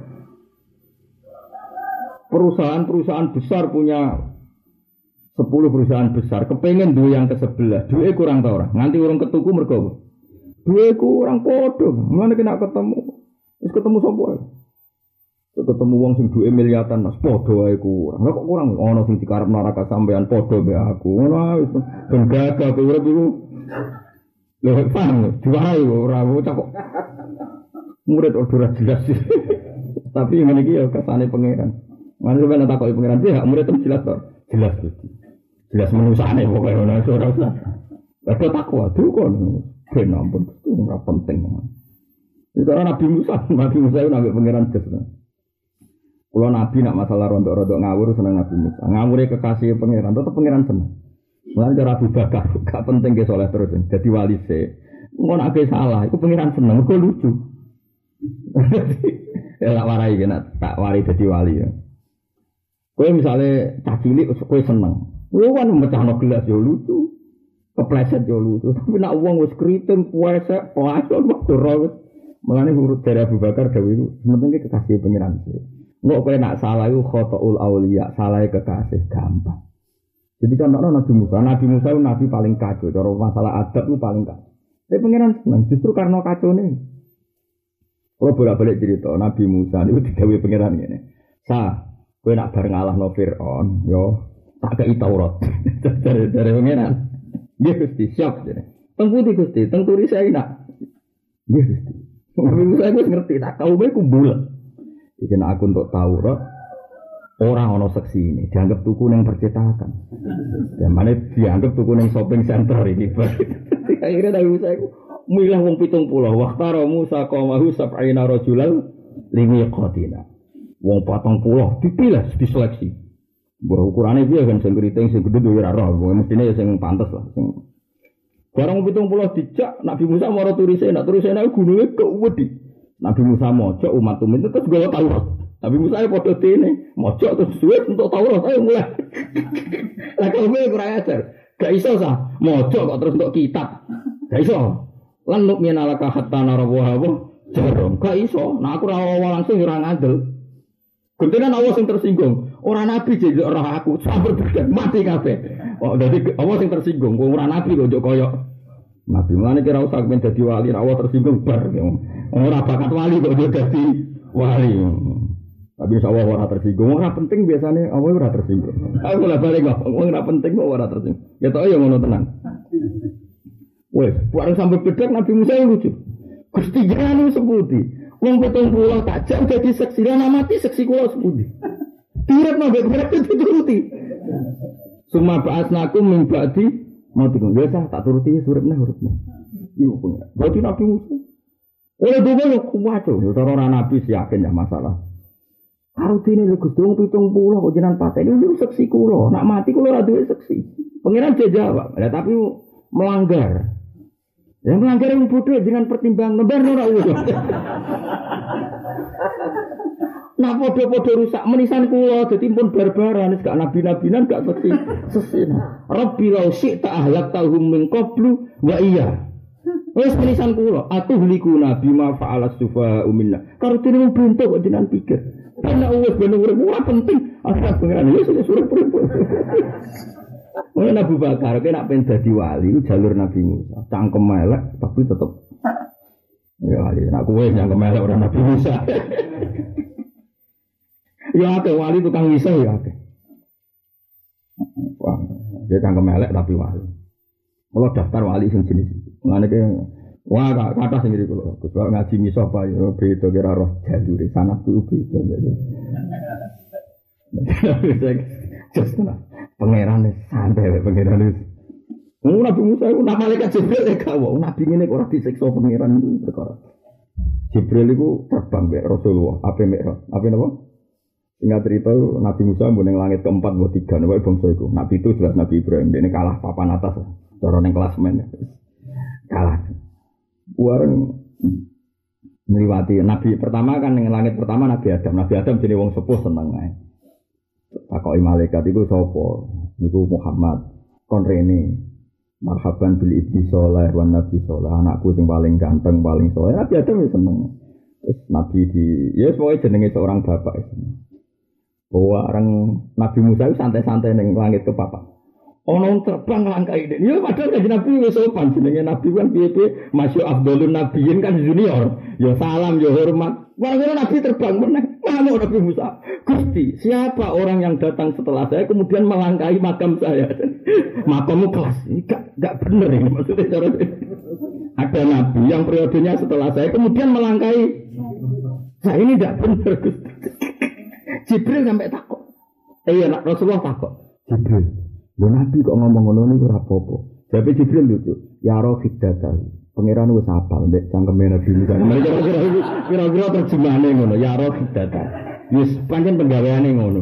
Perusahaan-perusahaan besar punya sepuluh perusahaan besar kepengen dua yang ke sebelah. Dua kurang tau orang. Nanti orang ketuku mergo. Dua kurang podo. Mana kena ketemu? Terus ketemu sapa? Ketemu wong sing duwe miliatan mas podo wae kurang. Lah kok kurang ono sing dikarep neraka sampean podo be aku. Ngono wis ben gagah kowe urip iku. Lho paham, diwarai ora kok. Murid ora jelas. Tapi ngene iki ya kesane pangeran. Mane sampeyan takoki pangeran piye hak murid itu jelas to? Jelas gitu. Jelas menusane pokoke ngono ora usah. Lah takwa tuh kon. Ben ampun ora penting. Itu Nabi Musa, Nabi Musa itu nabi pangeran jes. Kalau Nabi nak masalah rontok-rontok ngawur seneng Nabi Musa. Ngawure kekasih pangeran, tetap pangeran seneng. Mulane cara Abu Bakar gak penting ke soleh terus, jadi wali se. Ngono nek salah, itu pangeran seneng, kok lucu. Ya tak warai kena tak wari dadi wali ya. Kowe misale cah cilik kowe seneng. Kowe kan mecahno gelas ya lucu. Kepleset ya lucu. Tapi nek wong wis kriting puasa, puasa waktu rawat. Mulane urut dari Abu Bakar dawuh iku penting kekasih pangeran sih. Engko kowe nak salah iku khotoul auliya, salah kekasih gampang. Jadi contohnya Nabi Musa, Nabi Musa itu Nabi paling kacau, cara masalah adab itu paling kacau. Tapi pangeran senang, justru karena kacau ini. Kalau bolak-balik cerita, Nabi Musa itu didhawuhi pangeran ini. Sa, kowe nak bareng Allah no Fir'aun, yo tak kei Taurat. Dari dari pangeran. Nggih Gusti, siap jane. Teng pundi Gusti, teng turis saya nak. Nggih Gusti. Nabi Musa wis ngerti tak kaume kumbul. Iki nek aku untuk Taurat orang ono seksi ini dianggap tuku nang percetakan. Ya mana dianggap tuku nang shopping center ini. Akhirnya Nabi Musa iku milah wong pitung puluh waqtara Musa qaumahu sab'ina rajulal limiqatina. Wong patang puluh dipilih diseleksi. Mbah ukurane piye kan sing kriting sing gedhe yo ora roh, mestine sing pantes lah sing. Barang pitung puluh dijak Nabi Musa maro turise, nak turise nek gununge kewedi. Nabi Musa mojok umat umat terus gawa Taurat. Nabi Musa ya padha dene, mojok terus suwe untuk Taurat ayo mulai. Lah kok kowe kurang ajar. Gak iso sah, mojok kok terus untuk kitab. Gak iso. Lan nuk minalaka hatta narawa jarum. Gak iso. Nah aku ora langsung ora ngandel. Guntenan Allah sing tersinggung. Ora nabi jek ora aku, sabar bener mati kabeh. Oh dadi Allah sing tersinggung, wong ora nabi kok njuk koyo nabi. Mulane kira usah men dadi wali, Allah tersinggung bar. Ora bakat wali kok njuk dadi wali. Tapi insyaallah ora tersinggung. Ora penting biasane Allah ora tersinggung. Aku lah balik kok, wong ora penting kok ora tersinggung. Ya tok ya ngono tenan. Wes, bareng sampai bedek Nabi Musa lucu. Gusti jenengan sepundi? Wong pitung puluh tak jam dadi seksi lan mati seksi kula sepundi. Direp nang beberapa dituruti. Suma ba'asnakum min ba'di matikum. Ya tak turuti suripne hurufne. Iku pengen. Berarti Nabi Musa. Oleh dhewe yo kuat to. Yo cara ora nabi sih yakin ya masalah. Karo dene lho Gusti wong pitung puluh kok jenengan pateni niku seksi kula. Nak mati kula ora duwe seksi. Pangeran jawab. Lah tapi melanggar. Yang melanggar yang bodoh dengan pertimbangan lembar ora usah. Nah podo-podo rusak menisan kula dadi pun barbaran gak nabi-nabinan gak seksi sesin. Rabbi law syi'ta ahlaktahum min qablu wa iya. Wis menisan kula atuhlikuna bima fa'alas sufa'u minna. Karo dene wong bentuk kok jenengan pikir. Ana wis ben urip ora penting. Asal pengen wis urip-urip. Oleh Abu Bakar kena pengen dadi wali jalur Nabi Musa. Cangkem elek tapi tetep ya wali. Nek kowe cangkem elek ora Nabi Musa. Ya akeh wali tukang wisah ya akeh. Wah, dia cangkem elek tapi wali. Kalau daftar wali sing jenis itu. Ngene ke wah kata sing ngene kula. Gus ngaji misah Pak ya beda kira roh jalure sanad kuwi beda gitu. Just nah. Pangeran santai wae pangeran wis. Wong Nabi Musa iku nama malaikat Jibril e gak wae. Nabi ngene kok ora disiksa pangeran iku perkara. Jibril iku terbang mek Rasulullah, ape mek ape napa? Ingat cerita Nabi Musa mbok ning langit keempat mbok tiga wae bangsa iku. Nabi itu jelas Nabi Ibrahim, dene kalah papan atas. Cara ning klasmen. Kalah. Wareng ngliwati nabi pertama kan ning langit pertama Nabi Adam. Nabi Adam jenenge wong sepuh seneng ae. Takoki malaikat iku sapa? Niku Muhammad. Kon rene. Marhaban bil ibni sholih wan nabi sholih. Anakku sing paling ganteng, paling sholih. Nabi Adam wis seneng. Terus Nabi di ya semuanya jenenge seorang bapak itu. Bahwa orang Nabi Musa itu santai-santai ning langit ke papa. Ono terbang langkai ini. Ya padahal kan Nabi wis sopan jenenge Nabi kan piye-piye masyu afdhalun nabiyyin kan junior. Ya salam ya hormat. Wong-wong Nabi terbang meneh. Kamu Nabi Musa. Gusti, siapa orang yang datang setelah saya kemudian melangkahi makam saya? Makammu kelas. Enggak enggak bener ini maksudnya cara ada Nabi yang periodenya setelah saya kemudian melangkahi saya ini enggak bener Gusti. Jibril sampai takut. Eh ya Rasulullah takut. Jibril lho Nabi kok ngomong ngono niku ora apa-apa. Jawabe Jibril lucu. Ya roh hiddatah. Pangeran wis apal nek cangkeme Nabi Musa. Kira-kira kira-kira terjemahane ngono. Ya roh hiddatah. Wis pancen penggaweane ngono.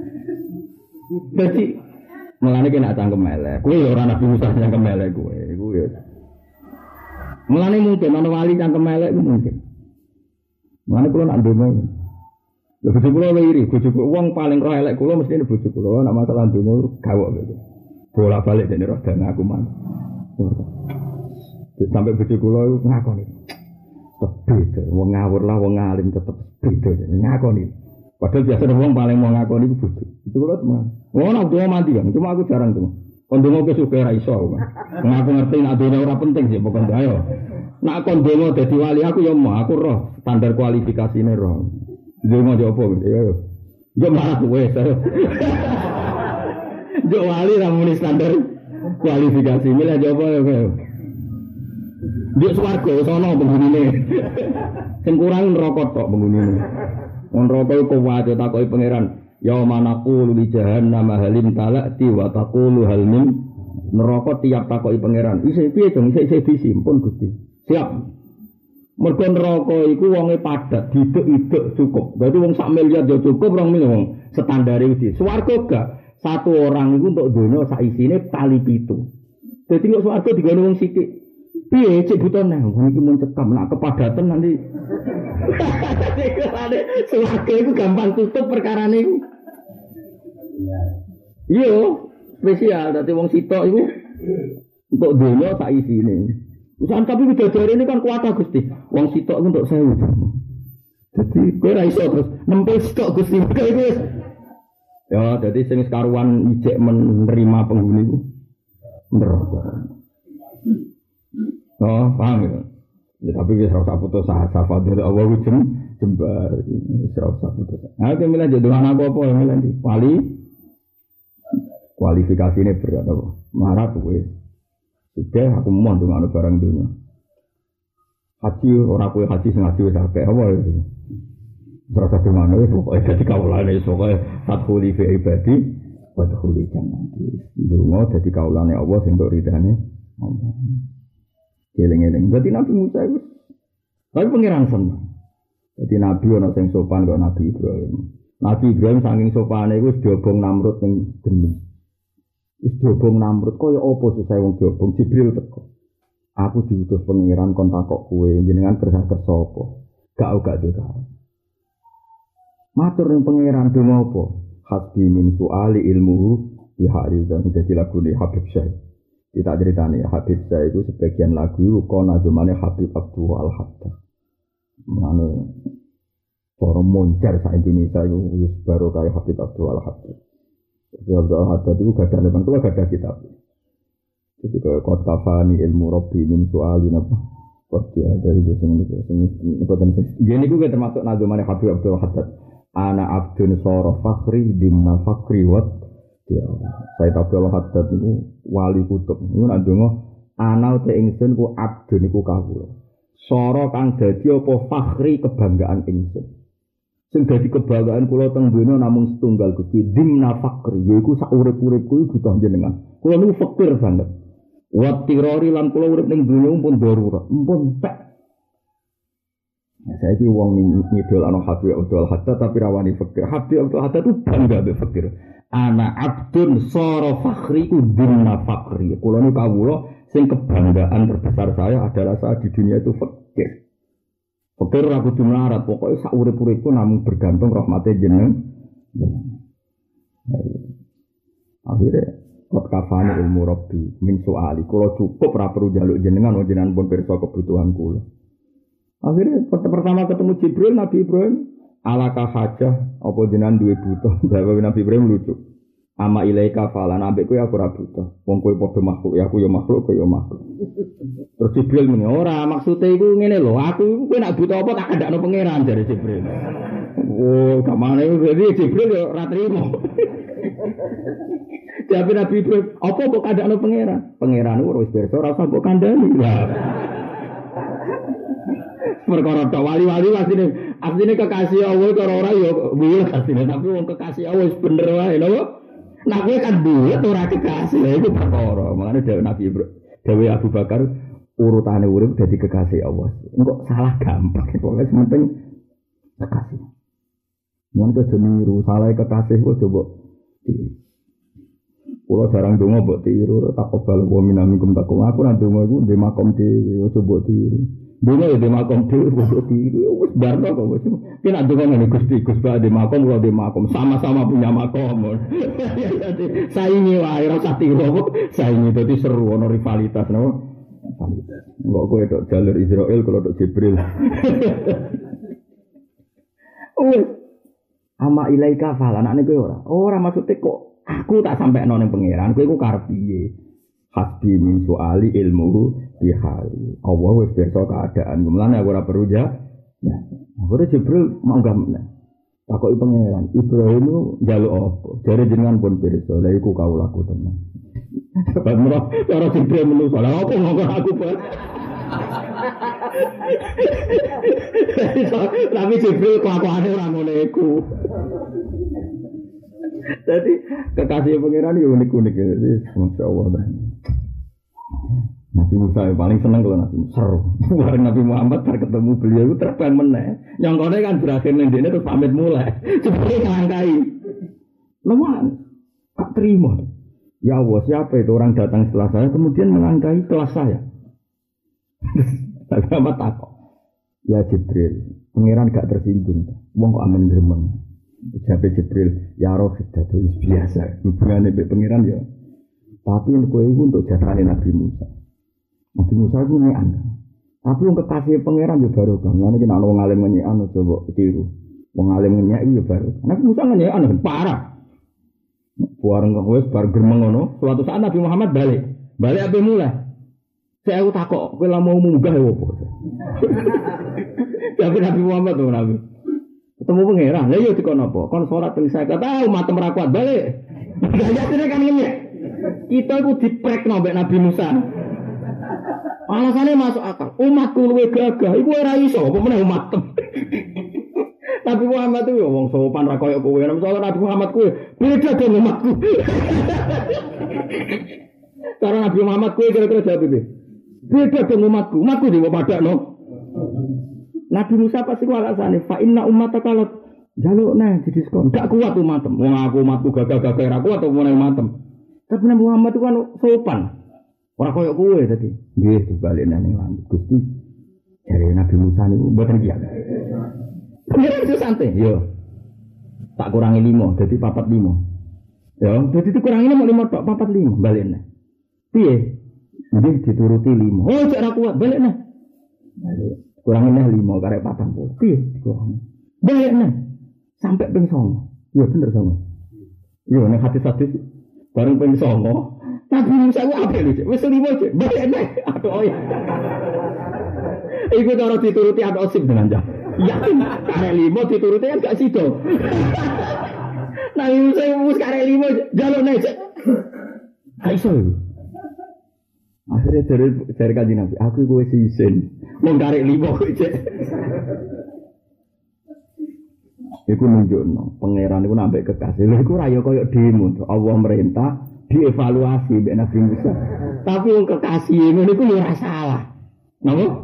Dadi mulane kena cangkem elek. Kuwi ora Nabi Musa cangkem elek kuwi. Iku ya. Mulane mungkin ana wali cangkem elek ku mungkin. Mulane kula nak ndonga. Lha bojo kula iri, bojo wong paling roh elek kula mesti ne bojo kula nek masalah ndonga gawok gitu. Bolak-balik dene roh dan aku man. Sampai bojo kula iku ngakoni. Beda, wong ngawur lah wong alim tetep beda ngakoni. Padahal biasa wong paling mau ngakoni iku bojo. Itu kula teman. Wong nak doa mati kan, cuma aku jarang tuh. Kondongo ke suka ra iso. Ngaku ngerti nek dene ora penting sih pokoknya ayo. Nak kondongo dadi wali aku ya mau aku roh standar kualifikasine roh. Dia mau jawab apa? Ya, dia malah kue. Dia wali ramuni standar kualifikasi. Mila jawab apa? Dia swarga, sono penghuni. Sing kurang neraka tok penghuni. Wong neraka iku wae takoki pangeran. Ya manaku li jahannam halim talati wa taqulu hal min neraka tiap takoki pangeran. Isih piye dong? Isih isih disimpun Gusti. Siap. Mergo neraka iku wonge padat, didek-idek cukup. Berarti wong sak miliar ya cukup, rong miliar wong standare iki. Swarga gak satu orang iku untuk donya sak isine kali pitu. Dadi nek swarga digone wong sithik. Piye cek butone? Wong iki mun cekam nak kepadatan nanti. Swarga iku gampang tutup perkarane iku. Iya, spesial dadi wong sitok iku untuk donya sak isine. Usaha tapi bidadari ini kan kuat Gusti. Wong sitok untuk sewu. Jadi kowe ra iso terus nempel stok Gusti. Ya, jadi sing karuan ijek menerima penghuni ku. Neraka. Oh, paham ya. Ya tapi wis ora usah putus asa fadhil Allah ku jem jembar wis ora usah putus. Ha iki milih jodoh anak apa ya milih ndi? Wali kualifikasine berat apa? Marat kowe. Sudah aku mau dengan barang dunia. Haji orang kue haji sengaja wis akeh apa itu. Berasa di mana wis pokoke dadi kaulane pokoke fathuli fi ibadi wa dhuli jannati. Dungo dadi kaulane Allah sing tok ridane Allah. Eling-eling. Berarti Nabi Musa itu tapi pangeran seneng. Jadi Nabi ana sing sopan kok Nabi Ibrahim. Nabi Ibrahim saking sopane iku wis diobong Namrud ning geni. Wis diobong Namrud kaya apa susah wong diobong Jibril teko. Aku diutus pangeran kon takok kowe jenengan kersa kersa apa? Gak gak dhewe. Matur ning pangeran donga apa? Hasbi min suali ilmuhu bi harizan dadi lagune Habib Syekh. Kita ceritane Habib Syekh itu sebagian lagu iku kono zamane Habib Abdul Al-Haddad. Mane para moncer sak Indonesia iku wis baru kaya Habib Abdul Al-Haddad. Habib Abdul Al-Haddad itu gak ada leman, itu gak ada kitab. Jadi kalau kot kafani ilmu Rabbi min su'alin apa? Kot dia dari biasanya ini, ini gini gue termasuk nazumane Habib Abdul Al-Haddad. Ana abdun soro fakhri dimna fakhri wat. Sayyid Abdul Al-Haddad itu wali kutub. Ini nazumah ana te ingsun ku abdun iku kawula. Soro kang dadi apa fakhri kebanggaan ingsun. Sing dadi kebanggaan kula teng donya namung setunggal Gusti dimna fakri yaiku sak urip-uripku butuh jenengan. Kula niku fakir banget. Wa tirori lan kula urip ning donya pun darurat, pun tek. Nah, saiki wong ngidol ana Habib Abdul Haddad tapi rawani fakir. Habib Abdul Haddad itu bangga be fakir. Ana abdun sara fakhri ku dimna fakri. Kula niku kawula sing kebanggaan terbesar saya adalah saat di dunia itu fakir. Fakir ora kudu melarat, pokoke sak urip-uripku namung bergantung rahmate jeneng. Akhirnya kot kafani ilmu Rabbi min soali. Kalau cukup ora perlu njaluk jenengan, jenengan pun pirsa kebutuhan kula. Akhirnya pertama ketemu Jibril, Nabi Ibrahim, alaka hajah apa jenengan duwe butuh. Jawab Nabi Ibrahim lucu. Ama ilaika falan ambek kowe aku ora butuh. Wong kowe padha makhluk, ya aku ya makhluk, kowe ya makhluk. Terus Jibril muni, ora maksude iku ngene lho, aku kowe nek butuh apa tak kandakno pangeran jare Jibril. Oh, kamane iki Jibril yo ora trimo. Tapi Nabi Ibrahim, apa kok kandakno pangeran? Pangeran wis pirsa ora usah mbok kandhani. Perkara tok wali-wali asline, asline kekasih Allah karo ora yo bulet asline, tapi wong kekasih Allah wis bener wae lho. Nah kowe kan bulet ora kekasih, lha iku perkara. Makane dhewe Nabi Ibrahim, dhewe Abu Bakar urutane urip dadi kekasih Allah. Engko salah gampang, pokoke penting kekasih. Mun aja niru salah kekasih kok coba tiru. Kulo jarang donga mbok tiru, takobal wa minamikum takum. Aku nang donga iku ndek makom dhewe, coba tiru. Donga ya ndek makom dhewe kok tiru. Wis barno kok wis. Ki nek donga ngene Gusti, Gus Ba ndek makom, kulo ndek makom, sama-sama punya makom. Saingi wae ora usah tiru kok. Saingi dadi seru ana rivalitas napa? Rivalitas. Kok kowe tok jalur Israel, kulo tok Jibril. Wis. Ama ilaika falan anake kowe ora. Ora maksude kok aku tak sampai nang pangeran, kowe iku karep piye? Hasbi min soali ilmu bihali. Allah wis pirsa keadaan. Mulane aku ora perlu ja. Ya. Akhire Jibril manggah meneh. Takoki pangeran, Ibrahim njaluk apa? Jare jenengan pun pirsa. Lha iku kawulaku tenan. Sebab murah cara Jibril menungso. Lah opo ngomong aku, Pak? Tapi Jibril kelakuane ora ngono iku. Jadi kekasih pangeran itu unik-unik ya. Jadi masya Allah. Nabi Musa yang paling senang kalau Nabi Musa seru. Bareng Nabi Muhammad bar ketemu beliau itu terbang meneh. Nyongkone kan berakhir nendene terus pamit mulai. Seperti ngelangkai. Lemah. Tak terima. Ya Allah, siapa itu orang datang setelah saya kemudian melangkahi kelas saya. Nabi Muhammad takut. Ya Jibril, pangeran gak tersinggung. Wong kok amen gremeng. Jabe Jibril, ya roh itu biasa. Hubungannya dengan pengiran ya. Tapi yang kue itu untuk jasane Nabi Musa. Nabi Musa itu nyean. Tapi yang kekasih pengiran ya baru kan. Karena kita ada orang alim nyean, coba tiru. Orang alim nyean itu ya baru. Nabi Musa nyean, parah. Buareng kue sebar germeng ngono. Suatu saat Nabi Muhammad balik. Balik apa mulai? Saya aku takut, kue lah mau munggah ya apa. Tapi Nabi Muhammad tuh Nabi. Ketemu pangeran, lah yo dikon apa? Kon salat ping saya kata matem ra kuat balik. Ayatine kan ngene. Kita iku diprekno mbek Nabi Musa. Alasane masuk akal. Umatku luwe gagah, iku ora iso apa meneh umat. Nabi Muhammad itu wong sopan ra koyo kowe. Misalnya Nabi Muhammad kowe beda dengan umatku. Karena Nabi Muhammad kowe kira-kira jawab iki. Beda dengan umatku. Umatku dhewe padakno. Nabi Musa pasti ku alasane fa inna ummataka lat jaluk nah didiskon. Gak kuat umatem. Wong aku umatku gagah-gagah ra kuat apa meneh umatem. Tapi Nabi Muhammad itu kan sopan. Ora koyo kowe tadi. Nggih dibalik nang langit. Gusti jare Nabi Musa niku mboten kiat. Ya itu santai. Yo. Tak kurangi lima, jadi papat lima. Ya, jadi dikurangi lima, lima tok, papat lima, balik neh. Piye? Nanti dituruti lima. Oh, cek ra kuat, balik neh. Balik. Kurangin neh lima, karek patang puluh. Piye? Dikurangi. Balik neh. Sampai ping songo. Iya bener songo. Iya, nek hati-hati bareng ping songo. Tapi Musa ku apik lho, Cek. Wis lima, Cek. Balik neh. Aduh, oh ya. Iku cara dituruti ada osip dengan jah. Yakin karek lima dituruti kan gak sido. Nah Musa wis karek lima jaluk nek. Gak iso. Akhirnya dari dari kanjeng Nabi, aku iku wis isin. Wong karek lima kok Cek. Iku nunjukno pangeran iku nambah kekasih. Lha iku ra ya koyo demo. Allah merintah dievaluasi mbek Nabi Musa. Tapi wong kekasih ngono iku ora salah. Napa?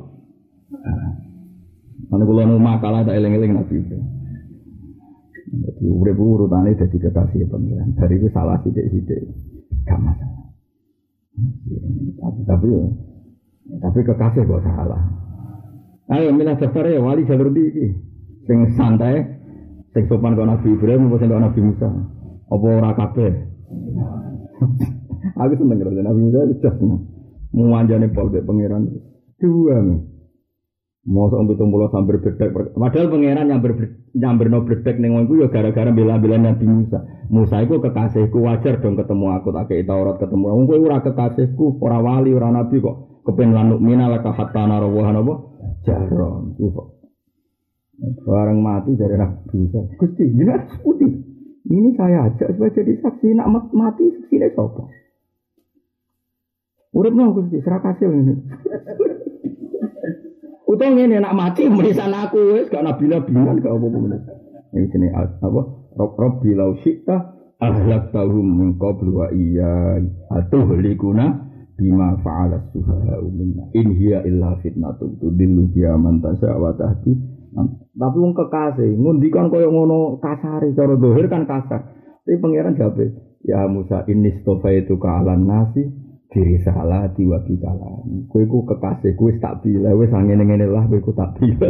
Mana kula nu makalah tak eling-eling Nabi. Jadi urip urutane dadi kekasih pangeran. Dari itu salah sithik-sithik. Gak masalah. Tapi tapi tapi kekasih kok salah. Ayo milih daftar ya wali jalur di iki. Sing santai, sing sopan kok Nabi Ibrahim apa sing kok Nabi Musa? Apa ora kabeh? Aku seneng karo Nabi Musa wis seneng. Muanjane pol mek pangeran. Dua nih. Mosok pitung puluh sambar bedek. Padahal pangeran nyamber nyamberno bedek ning ngono ya gara-gara bela-bela Nabi Musa. Musa iku kekasihku wajar dong ketemu aku tak kei Taurat ketemu. Wong kowe ora kekasihku, ora wali, ora nabi kok. Kepen lanuk minal ka hatta narawah apa? Jaron. Bareng mati dari Nabi Musa. Gusti, jenengan putih. Ini saya ajak supaya jadi saksi nak mati saksine sapa? Urip nang Gusti serak hasil ini. Utang ngene nak mati menisan aku wis gak nabi-nabian gak apa-apa meneh. Iki jenenge apa? Rabbi law syi'ta ahlaktahum min qablu wa iyya atuhlikuna bima fa'ala sufaha minna in hiya illa fitnatun tudillu biha man tasha wa tahdi. Tapi wong kekasih ngundikan kaya ngono kasare cara zahir kan kasar. Tapi pangeran jabe, ya Musa inni stofaitu ka alan nasi diri salah diwa bikalan. Kowe iku kekasih kowe tak pilih wis ngene-ngene lah kowe iku tak pilih.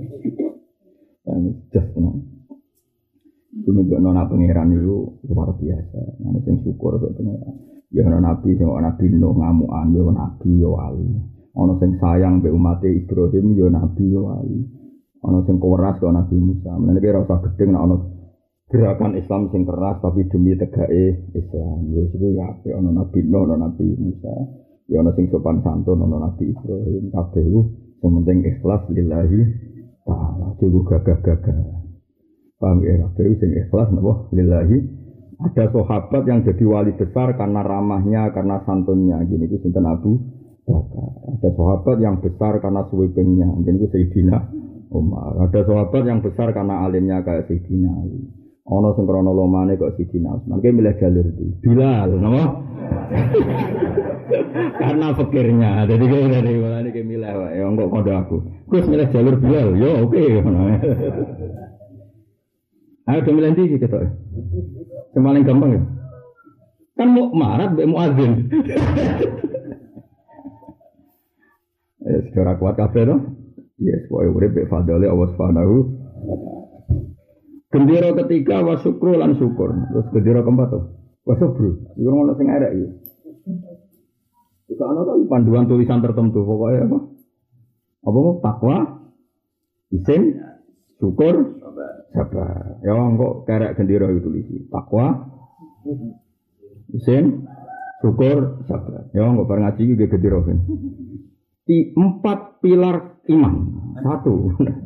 Dan just nang kuwi nona pangeran itu luar biasa. Ana sing syukur karo pangeran. Ya ana nabi sing ana nabi Nuh ngamukan yo nabi yo wali. Ana sing sayang mbek umat Ibrahim yo nabi yo wali. Ana sing keras karo Nabi Musa. Menene ora usah gedeng nek ana gerakan Islam sing keras tapi demi tegake Islam. Ya iku ya apik ana Nabi Nuh, ana Nabi Musa. Ya ana sing sopan santun ana Nabi Ibrahim. Kabeh iku sing penting ikhlas lillahi ta'ala. Juga gagah-gagah. Paham ya? Kabeh sing ikhlas napa lillahi. Ada sahabat yang jadi wali besar karena ramahnya, karena santunnya. Gini ku sinten Abu Bakar. Ada sahabat yang besar karena sweepingnya. Gini ku Sayyidina Umar. Ada sahabat yang besar karena alimnya kayak Sayyidina Ali. Ono sing krana lomane kok Sayyidina Utsman. Ki milih jalur iki. Bilal, napa? Karena fikirnya. Jadi ki dari mulane ki milih wae. Ya kok kondo aku. Terus milih jalur Bilal. Yo oke. Ayo do milih iki ketok. Sing paling gampang ya. Kan mau marat mbek muadzin. Eh, secara kuat kabeh to. Yes, wae urip be fadhole Allah Subhanahu wa taala. Gendera ketiga wa syukru lan syukur. Terus gendera keempat to. Wa sabru. Iku ngono sing arek iki. Iku ana to panduan tulisan tertentu pokoke apa? Apa mau takwa, isin, syukur, sabar. Ya engko karek gendera itu tulisi. Takwa, isin, syukur, sabar. Ya engko bar ngaji iki gendera ben. Di empat pilar iman. Satu.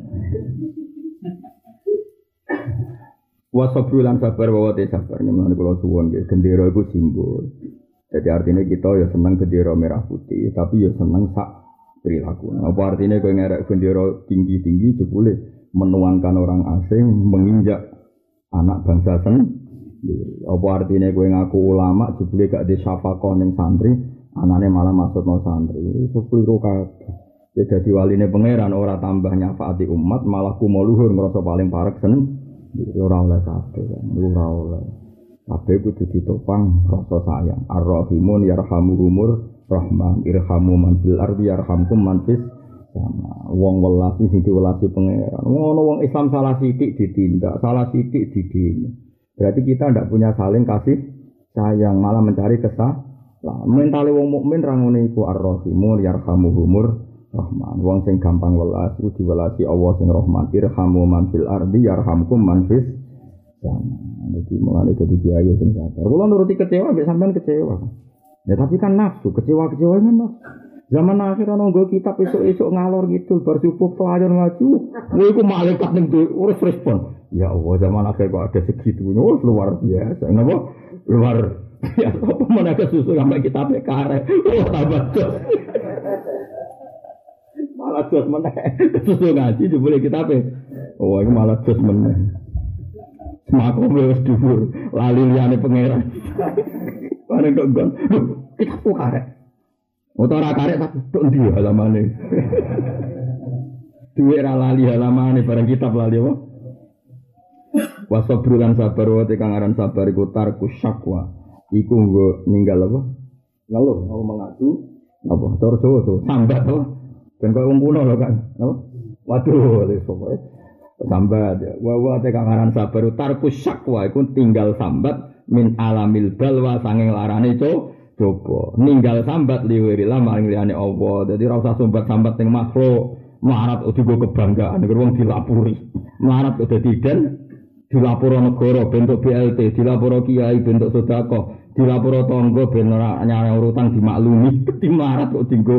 Wasabru lan sabar wa te sabar. Nyemane kula suwun nggih, gendera iku simbol. Jadi artinya kita ya seneng gendera merah putih, tapi ya seneng sak perilaku. Apa artinya kowe ngerek gendera tinggi-tinggi jebule menuankan orang asing menginjak anak bangsa sendiri. Apa artinya kowe ngaku ulama jebule gak di syafaqah ning santri, anane malah maksudno santri. Iku keliru kabeh. Jadi waline pangeran ora tambah nyafaati umat, malah kumo luhur ngrasa paling parek sen. Ora oleh kabeh, ora oleh. Kabeh kudu ditopang rasa sayang. Ar-Rahimun yarhamuhumur rahman irhamu man fil ardi yarhamkum man fis sama. Wong welasi sing diwelasi pangeran. Ngono wong Islam salah sithik ditindak, salah sithik didini. Berarti kita ndak punya saling kasih sayang, malah mencari kesalahan. Mentale wong mukmin ra ngene iku Ar-Rahimun yarhamuhumur Rahman. Wong sing gampang welas iku diwelasi Allah sing Rahman. Irhamu man fil ardi yarhamkum man fis sama. Jadi mulane dadi kiai sing sabar. Kula nuruti kecewa mbek sampean kecewa. Ya tapi kan nafsu, kecewa-kecewa kan nafsu. Zaman akhir ana nggo kitab esuk-esuk ngalor gitu bar subuh pelajar ngaji. Kowe iku malaikat ning urus respon. Ya Allah, zaman akhir kok ada segitunya. Oh, luar biasa. Napa? Luar biasa. Apa menaga susu sampai kitab karek. Oh, tambah jos. Malah jos meneh. Susu ngaji jebule kitab. Oh, iki malah jos meneh. Semakom wis dhuwur, lali liyane pangeran. Bareng kok gon. Kitab karek. Ora karek tapi tok ndi halamane. Duwe ra lali halamane bareng kitab lali apa? Wasabru lan sabar wa te kang aran sabar iku tarku syakwa. Iku nggo ninggal apa? Ngeluh, mau mengadu apa? Cara Jawa to, sambat to. Ben koyo wong kuno lho kan. Apa? Waduh, wis pokoke sambat ya. Wa wa te kangaran sabar tarku syakwa iku tinggal sambat min alamil balwa sanging larane co coba. Ninggal sambat liwirilah maring liyane Allah. Dadi ora usah sambat-sambat ning makhluk. Melarat udah kebanggaan, wong dilapuri. Melarat udah tidak, dilapuro negara bentuk B L T, dilapuro kiai bentuk sedekah, dilapuro tangga ben ora nyarang urutan dimaklumi. Di melarat kok dinggo.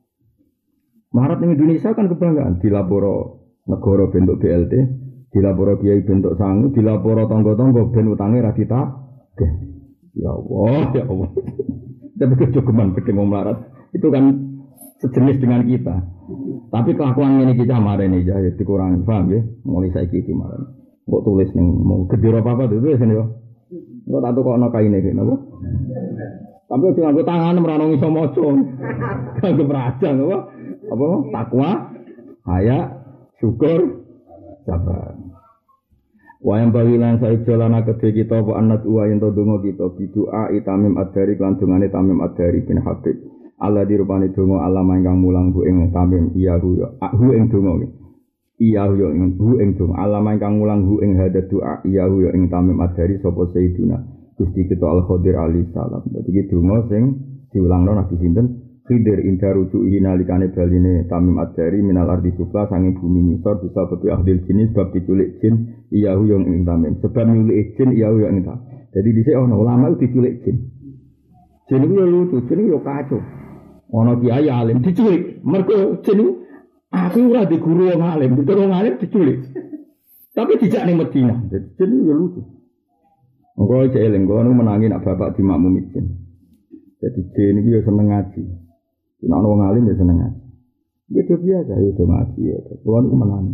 Melarat ning Indonesia kan kebanggaan, dilapuro negara bentuk B L T, dilapuro kiai bentuk sangu, dilapuro tangga-tangga ben utange ra ditagih. Ya Allah, ya Allah. Tapi kejogeman gede wong melarat. Itu kan sejenis dengan kita. Tapi kelakuan ini kita kemarin ini jadi dikurangi, paham ya? Mulai saya gitu kemarin. Kok tulis nih mau gede apa apa tuh tulis nih yo. Kok tak tuh kok nak kain ini, apa? Tapi aku nganggo tangan meranongi somoco. Nganggo merajang apa? Apa? Takwa, haya, syukur, sabar. Wayang bagilan saya jalan kedhe kita apa anat uwa yen to donga kita bidu'a itamim adari kan dungane tamim adari bin Habib. Allah dirupani donga alama ingkang mulang bu ing tamim iya hu ya hu ing donga iya hu ya ing hu ing donga alama ingkang mulang hu ing hadat doa iya hu ya ing tamim adari sapa sayyiduna Gusti kita Al Khadir alaihi salam. Dadi iki donga sing diulangno Nabi sinten Khidir inda rujuhi nalikane baline tamim adari minal ardi sufla sanging bumi ngisor bisa bebi ahdil jenis bab diculik jin iya hu ya ing tamim sebab nyulik jin iya hu ya ing tamim. Jadi dhisik ana ulama diculik jin. Jin iki lucu, jin iki yo kacau. Ana kiai alim diculik, mergo jenu aku ora di guru wong alim, di wong alim diculik. Tapi dijak ning Madinah. Jadi jenu ya lucu. Engko cek eling kono menangi nak bapak di makmum izin. Jadi jen iki ya seneng ngaji. Nek ana wong alim ya seneng ngaji. Ya dia biasa ya do ngaji ya. Kuwi ku menangi.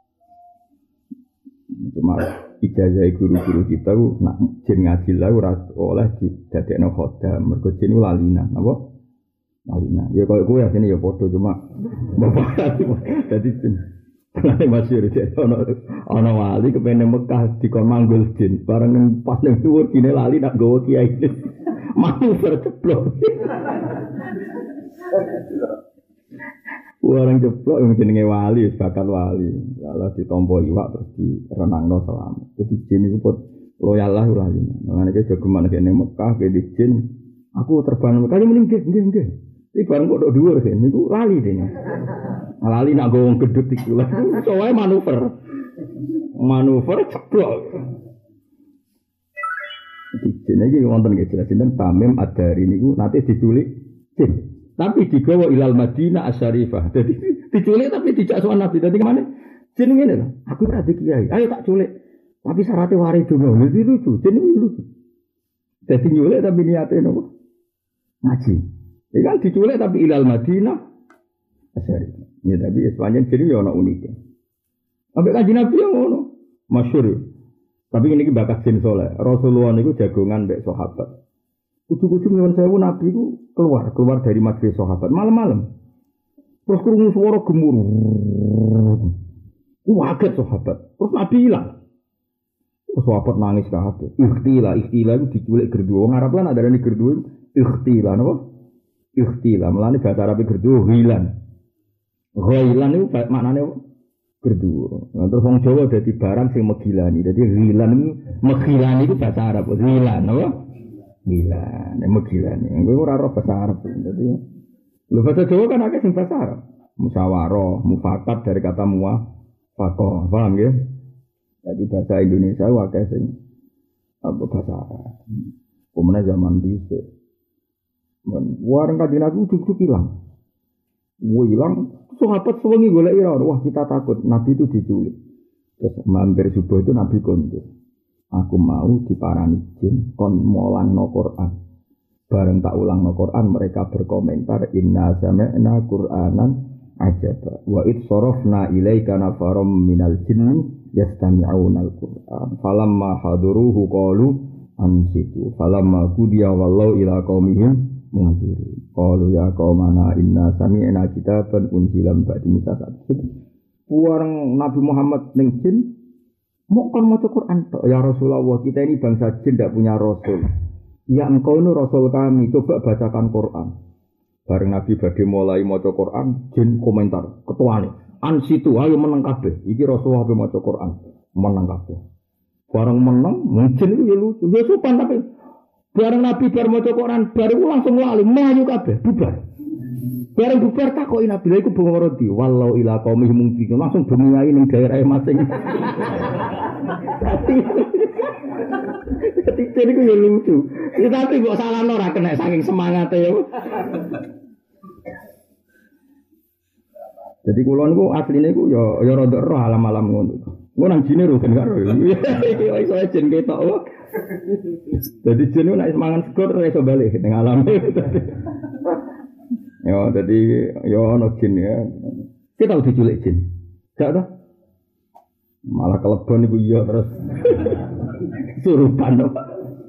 Cuma ijazah guru-guru kita ku nak jen ngaji lah ora oleh didadekno khodam, mergo jen lalinan, apa? Malina, ya kalau gue ya sini ya foto cuma bapak jadi Nanti masyur jadi ono wali kepengen Mekah di kon manggul jin, bareng pas nang dhuwur kene lali nak gawa kiai. Manuver ceplok. Orang ceplok yang jenenge wali, bakat wali. Lalu ditompo iwak terus direnangno selamat. Jadi jin itu pun loyal lah lali. Mangane iki jogeman kene Mekah ke jin. Aku terbang Mekah mending nggih nggih nggih. Iki bareng kok nduk dhuwur kan niku lali dene. Lali nak gowong gedut iku lha. Soale manuver. Manuver ceplok. Iki iki wonten nggih jelas sinten Tamim Ad-Dari niku nate diculik jin. Tapi digawa ilal Madinah Asy-Syarifah. Dadi diculik tapi dijak sowan Nabi. Dadi kemana? Jin ngene lho. Aku ora di kiai. Ayo tak culik. Tapi syaratnya wari donga. Lha lucu. Jin iki lucu. Dadi nyulik tapi niate nopo? Ngaji. Ini kan diculik tapi ilal Madinah Asy-Syarifah. Ya tapi sepanjang jadi ya ana unik. Ambek Kanjeng Nabi yang ngono. Masyhur. Tapi ini bakat jin soleh. Rasulullah niku jagongan mbek sahabat. Ujug-ujug nyuwun sewu Nabi ku keluar, keluar dari majelis sahabat malam-malam. Terus krungu swara gemuruh. Waget sahabat. Terus Nabi hilang. Terus sahabat nangis kabeh. Ikhtila, ikhtila itu diculik gerdu. Wong Arab lan adarane gerdu ikhtila napa? Ikhtila, melane bahasa Arab gerdu hilan. Hilan itu maknane gerdu. Nah, terus wong Jawa dadi barang sing megilani. Dadi hilan iki megilani itu bahasa Arab. Hilan apa? Hilan, megilani. Kowe ora ora bahasa Arab. Dadi lho bahasa Jawa kan akeh sing bahasa Arab. Musyawarah, mufakat dari kata muwafaqah. Paham nggih? Jadi bahasa Indonesia akeh sing apa bahasa Arab. Kemudian zaman dhisik warang Kanjeng Nabi ujug-ujug hilang. Wah hilang, sahabat sewengi golek ira. Wah kita takut Nabi itu diculik. Terus mampir subuh itu Nabi kondur. Aku mau diparani jin kon molangno Quran. Bareng tak ulangno Quran mereka berkomentar inna sami'na Qur'anan ajaba wa id sarafna ilaika nafaram minal jinni yastami'una al-Qur'an. Falamma haduruhu qalu ansitu. Falamma qudiya wallahu ila qaumihim munziri. Qalu ya qaumana inna sami'na kitaban unzila min ba'di Musa. Warang Nabi Muhammad ning jin mau kan maca Quran tok. Ya Rasulullah, kita ini bangsa jin tidak punya rasul. Ya engkau ini rasul kami, coba bacakan Quran. Bareng Nabi badhe mulai maca Quran, jin komentar, ketuane. Ansitu ayo menang kabeh. Iki Rasulullah pe maca Quran, menang kabeh. Bareng menang, mungkin itu ya lucu. Ya sopan tapi bareng Nabi bar maca Quran, baru langsung lali mlayu kabeh, bubar. Bareng bubar takoki Nabi, lha iku bengoro di walau ila qaumi mungkin langsung dunyai ning daerah masing. Jadi itu ya lucu. Tapi kok salah ora kena saking semangate ya. Jadi kula niku asline iku ya ya rada roh alam-alam ngono. Ngono nang jine ro ben karo. Iki iso jin ketok. Jadi jin nek semangan segor ora iso bali ning alam. Ya dadi ya ono jin ya. Kita tau diculik jin. Gak to? Malah kelebon iku iya terus. Surupan to.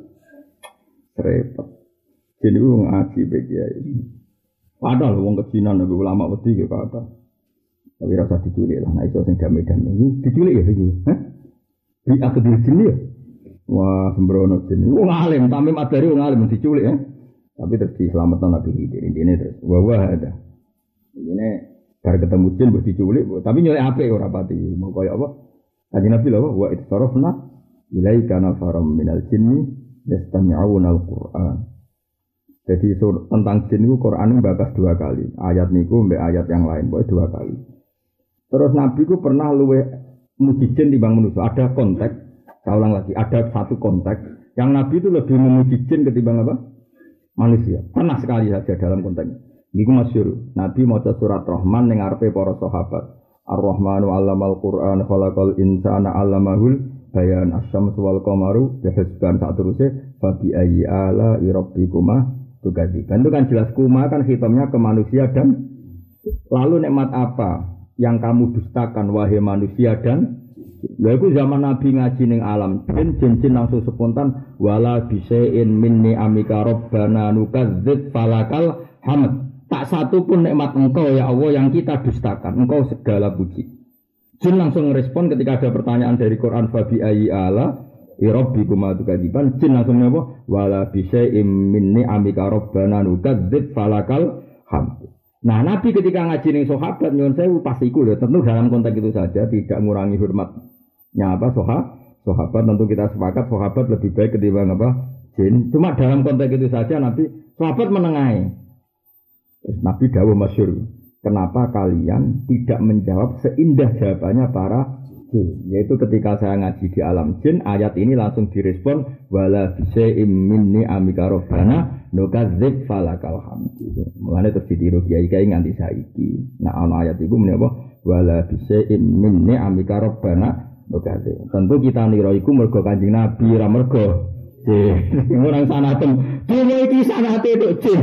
Repot. Jin iku ngaji be kiai. Padahal wong kejinan nek ulama wedi ge kata. Tapi rasa diculik lah, nah itu yang damai-damai ini diculik ya ini, hah? Di akhir jin ya? Wah sembrono jin, wong alim, tamim adari wong alim diculik ya. Tapi terus diselamatkan Nabi Khidir, ini terus, wah wah ada. Ini bar ketemu jin buat diculik, tapi nyulik apik ora pati, mau kaya apa? Kanjeng Nabi lho, wa itsarafna ilaika nafaram minal jinni yastami'una al-Qur'an. Jadi sur, tentang jin itu Quran bakas dua kali, ayat niku mbek ayat yang lain, boleh dua kali. Terus Nabi ku pernah luwe muji jin timbang manusia. Ada konteks, saya ulang lagi, ada satu konteks yang Nabi itu lebih memuji jin ketimbang apa? Manusia. Pernah sekali saja dalam konteks. Iku masyhur. Nabi maca surat Rahman ning ngarepe para sahabat. Ar-Rahmanu 'allamal Qur'an khalaqal insana 'allamahul bayan asy-syamsu wal qamaru bihusban sak teruse fa bi ayyi ala rabbikuma tukadziban. Itu kan jelas kuma kan hitamnya ke manusia dan lalu nikmat apa yang kamu dustakan wahai manusia dan lha iku zaman Nabi ngaji ning alam jin jin langsung spontan wala bisain minni amika rabbana nukadzib falakal hamd. Tak satu pun nikmat engkau ya Allah yang kita dustakan, engkau segala puji. Jin langsung merespon ketika ada pertanyaan dari Quran fa bi ayyi ala rabbikum tukadziban. Jin langsung apa wala bisain minni amika rabbana nukadzib falakal hamd. Nah, Nabi ketika ngaji ning sahabat nyuwun sewu pas iku lho, tentu dalam konteks itu saja tidak mengurangi hormatnya apa sahabat. Sahabat tentu kita sepakat sahabat lebih baik ketimbang apa jin. Cuma dalam konteks itu saja Nabi sahabat menengahi. Nabi dawuh masyhur, kenapa kalian tidak menjawab seindah jawabannya para jin? Yaitu ketika saya ngaji di alam jin, ayat ini langsung direspon wala bisaim minni amika rabbana nukadzib falakal hamdu. Mulane terus ditiru kiai-kiai nganti saiki. Nah ana ayat iku meneh apa wala bisaim minni amika rabbana nukadzib. Tentu kita nira iku mergo Kanjeng Nabi ra mergo jin. Orang sanaten dene iki sanate tok jin.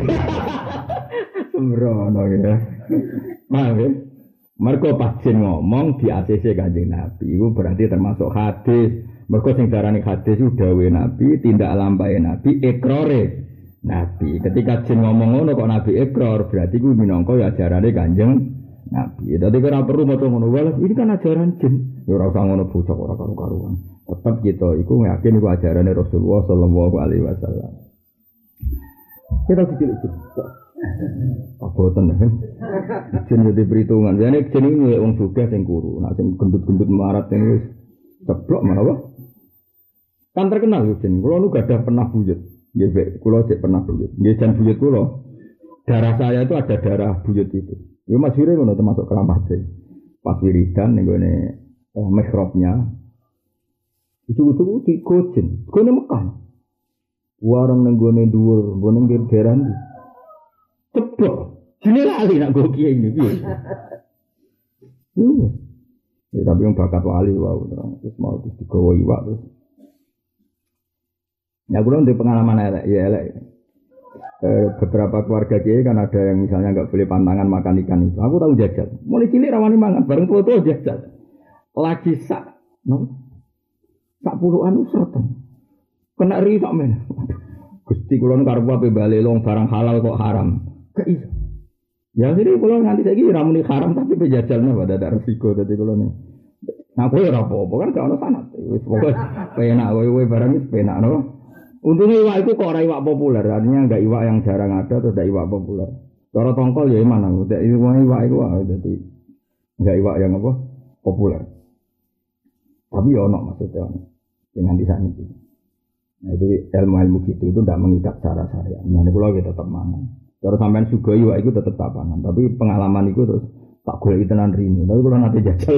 Sembrono ya. Paham ya? Mergo pas jin ngomong di A C C Kanjeng Nabi itu berarti termasuk hadis. Mergo sing darani hadis itu dawuhe Nabi, tindak lampahe Nabi, ikrare Nabi. Ketika jin ngomong ngono kok Nabi ikrar, berarti ku minangka ya ajarane Kanjeng Nabi. Dadi ora perlu maca ngono wae, ini kan ajaran jin. Ya ora usah ngono bocah ora karu-karuan. Tetep kita iku yakin iku ajarane Rasulullah sallallahu alaihi wasallam. Kita cilik aboten kan. Jin yo diperhitungan. Jane jin iki wong sugih sing kuru, nek sing gendut-gendut marat ini wis ceplok malah apa? Kan terkenal yo jin. Kulo nu gadah pernah buyut. Nggih, Pak. Kulo cek pernah buyut. Nggih, jan buyut kulo. Darah saya itu ada darah buyut itu. Yo masyhure ngono termasuk keramate. Pas wiridan ning gone eh, mihrabnya. Itu-itu di Gojin. Gone Mekah. Warung ning gone dhuwur, gone ning daerah ndi? Ceplok. Jine lali nak go kiai ini piye. Yo. Ya tapi yang bakat wali wae terus mau terus digawa iwak terus. Ya kula ndek pengalaman elek ya elek. Eh, beberapa keluarga kiai kan ada yang misalnya enggak boleh pantangan makan ikan itu. Aku tahu jajal. Mulai cilik rawani mangan bareng tua-tua jajal. Lagi sak no. Sak puluhan usatan. Kena ri sak men. Gusti kula karep ape bali long barang halal kok haram. Gak iso. Ya jadi kalau nanti saya kira ramuni haram tapi pejajalnya pada ada resiko tadi kalau nih. Nah kowe ora apa-apa kan gak ono sanad. Wis pokoke penak kowe barang wis penak no. Untungnya iwak itu kok ora iwak populer, artinya enggak iwak yang jarang ada atau enggak iwak populer. Cara tongkol ya mana, udah iwak iwak itu wae dadi. enggak iwak yang apa populer. Tapi ya ono maksudnya dengan di sana itu. Nah itu ilmu-ilmu gitu itu tidak mengikat secara syariat. Nah ini kalau kita tetap mangan. Terus sampean sugoi iwak itu tetap tapangan. Tapi pengalaman itu terus tak boleh tenan rini. Tapi kalau nanti jajal.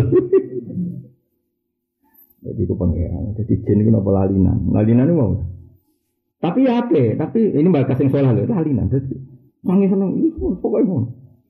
Jadi itu pengeran. Jadi jin itu apa lalinan? Lalinan itu mau. Tapi ya apa? Tapi ini bakas yang soal loh lalinan. Jadi sangi seneng itu pokoknya mau.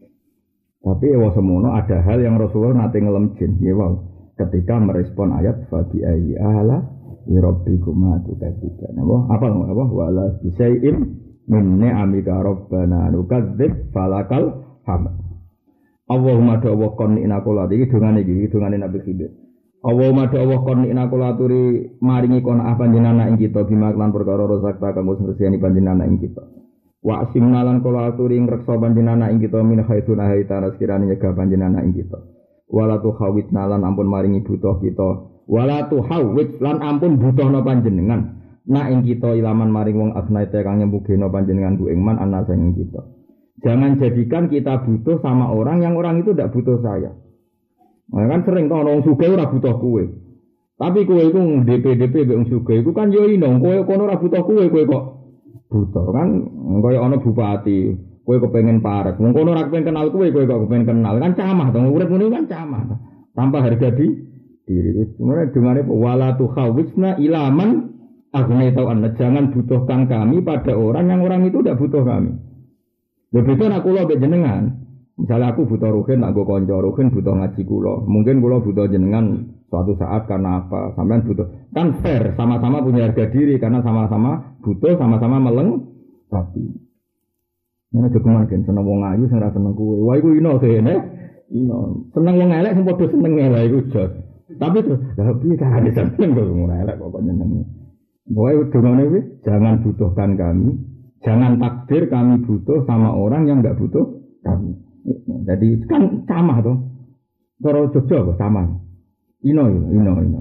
Tapi ya semono ada hal yang Rasulullah nanti ngelem jin. Ya wow. Ketika merespon ayat fabi ayyi ala rabbikuma tukadziban. Apa? Apa apa? Wala bisai'in min ni'amika rabbana nukadzib falakal hamd. Allahumma da'wa qonni inaqula iki dongane iki dongane Nabi Khidir. Allahumma da'wa qonni inaqula turi maringi kono apa panjenengan ing kita bimaklan perkara rozakta kanggo ngreseni panjenengan ing kita. Wa simnalan kula aturi ngreksa panjenengan ing kita min haitsun haitana sekirane nyegah panjenengan ing kita. Wala tu khawit nalan ampun maringi butuh kita wala tu hawit lan ampun butuhna panjenengan nak ing kita ilaman maring wong asnaite kang nyembugeno panjenengan ku ing man ana sing kita. Jangan jadikan kita butuh sama orang yang orang itu tidak butuh saya. Nah, kan sering kan orang sugih ora butuh kowe. Tapi kowe iku D P D P mbek wong sugih iku kan yo ino kowe kono ora butuh kowe kowe kok butuh kan kaya ana bupati kowe kepengen parek, wong kono ora kepengen kenal kowe, kowe kok kepengen kenal, kan camah to, urip ngene kan camah. Tanpa harga di diri. Sebenarnya dengane wala tu khawisna ilaman aghnayta an, jangan butuhkan kami pada orang yang orang itu tidak butuh kami. Lha beda nek kula mbek jenengan. Misalnya aku butuh ruhin, nak go kanca ruhin butuh ngaji kula. Mungkin kula butuh jenengan suatu saat karena apa? Sampean butuh. Kan fair, sama-sama punya harga diri karena sama-sama butuh, sama-sama melengkapi. Nek jogeman kan seneng wong ayu sing ora seneng kowe. Wah iku ino kene. Ino. Seneng wong elek sing padha seneng elek iku jos. Tapi terus lha piye carane seneng kok wong elek kok nyenengi. Pokoke dongane kuwi jangan butuhkan kami, jangan takdir kami butuh sama orang yang enggak butuh kami. Jadi kan camah to. Cara Jogja kok camah. Ino ino ino.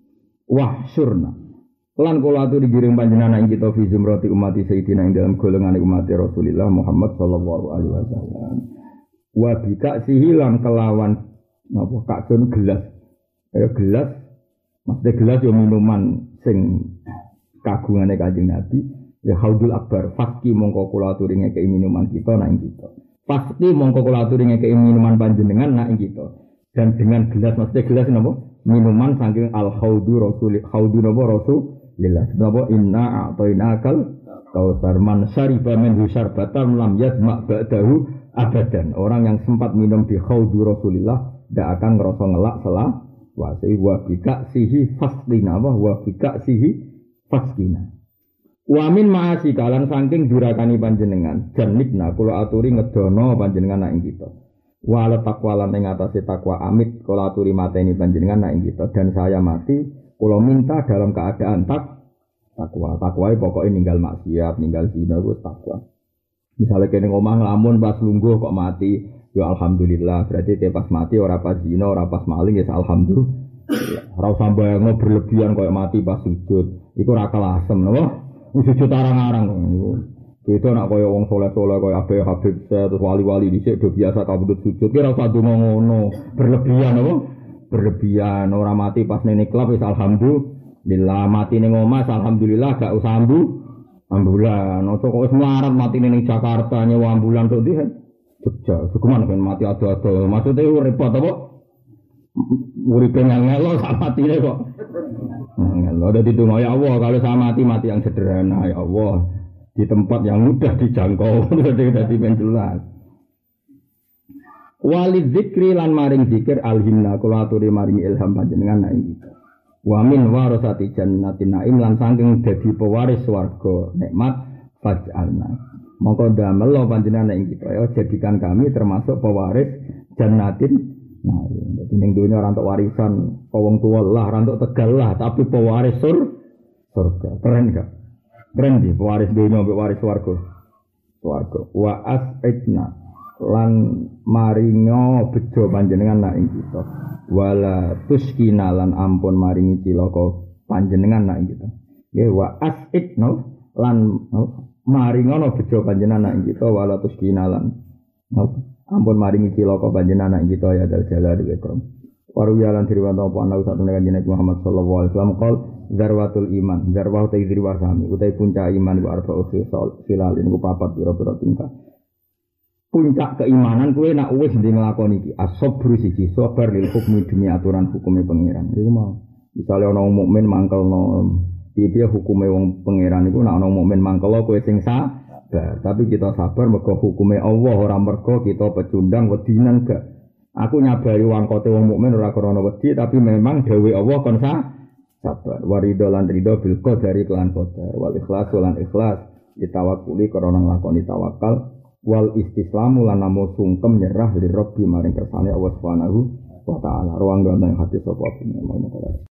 Wah surna. Lan kula aturi digiring panjenengan ing kita fi zumrati umat sayyidina ing dalam golongan umat Rasulullah Muhammad sallallahu alaihi wasallam. Wa bika sihilan kelawan napa kaksun gelas. Ya gelas, maksudnya gelas yo minuman sing kagungane Kanjeng Nabi, ya haudul akbar fakki mongko kula aturi ngekeki minuman kita nang kita. Pasti mongko kula aturi ngekeki minuman panjenengan nang kita. Dan dengan gelas maksudnya gelas napa? Minuman saking al haudu rasul haudu napa rasul lillah sebab inna a'tainakal kautsar man syariba min syarbatan lam yazma ba'dahu abadan. Orang yang sempat minum di khaudu Rasulillah tidak akan ngerasa ngelak selah wasi wa bika sihi fasdina wa bika sihi fasdina wa min ma'asi kalan saking durakani panjenengan janibna kula aturi ngedono panjenengan nak ing kita wala takwa lan ing atase takwa amit kula aturi mateni panjenengan nak ing kita dan saya mati kula minta dalam keadaan tak takwa. Takwa pokoknya ninggal maksiat, ninggal zina itu takwa. Misalnya kene ngomong ngelamun pas lungguh kok mati, ya alhamdulillah. Berarti dia pas mati ora pas zina, ora pas maling ya alhamdulillah. Ora usah bayangno berlebihan kok mati pas sujud. Iku ora kelasem napa? Sujud arang-arang niku. Beda nak kaya wong saleh-saleh kaya Habib Habib terus wali-wali dhisik do biasa kabudut sujud. Ki ora usah donga ngono. Berlebihan apa? Berlebihan ora mati pas nene klub wis alhamdulillah mati ning omah alhamdulillah gak usah ambu ambulan ojo kok wis melarat mati ning Jakarta nyewa ambulan tok ndi Jogja cukuman kan mati ado-ado maksudnya repot apa uripe ngelo sak matine kok ngelo dadi donga ya Allah kalau saya mati mati yang sederhana ya Allah di tempat yang mudah dijangkau dadi men jelas. Walid zikri lan maring zikir alhimna kula aturi maring ilham panjenengan nak iki. Wa min warasati jannatin naim lan saking dadi pewaris swarga nikmat faj'alna. Mongko damel panjenengan nak iki ya jadikan kami termasuk pewaris jannatin naim. Dadi ning donya ora entuk warisan wong tuwa lah, ora entuk tegal lah, tapi pewaris sur surga. Keren gak? Keren di pewaris donya mbek waris swarga. Swarga. Wa as'idna lan maringo bejo panjenengan nak ing kita wala tuskina lan ampun maringi cilaka panjenengan nak ing kita ya wa asidno lan maringono bejo panjenengan nak ing kita wala tuskina lan Ampun maringi cilaka panjenengan kita ya dal jalal wa ikram. Waru yalan diriwanto apa ana sak tenan kanjeng Muhammad sallallahu alaihi wasallam qol zarwatul iman, zarwah ta idriwa sami, utai puncak iman wa arba'u khisal, khilal niku papat pira-pira tingkah. Puncak keimanan kuwi nak wis ndi nglakoni iki, as-sabru siji sabar lil hukmi demi aturan hukume pangeran. Iku mau. Misale ana wong mukmin mangkelno piye hukume wong pangeran iku nak ana wong mukmin mangkel kowe sing sabar, tapi kita sabar mergo hukume Allah ora mergo kita pecundang wedinan gak. Aku nyabari wangkote wong mukmin ora krana wedi tapi memang dawuh Allah kon sabar. Warido lan rido bil qadari kelan qadar wal ikhlas lan ikhlas ditawakkuli krana nglakoni tawakal wal istislamu lan namo sungkem nyerah li Rabbi maring kersane Allah Subhanahu wa taala. Ruang dono hati sapa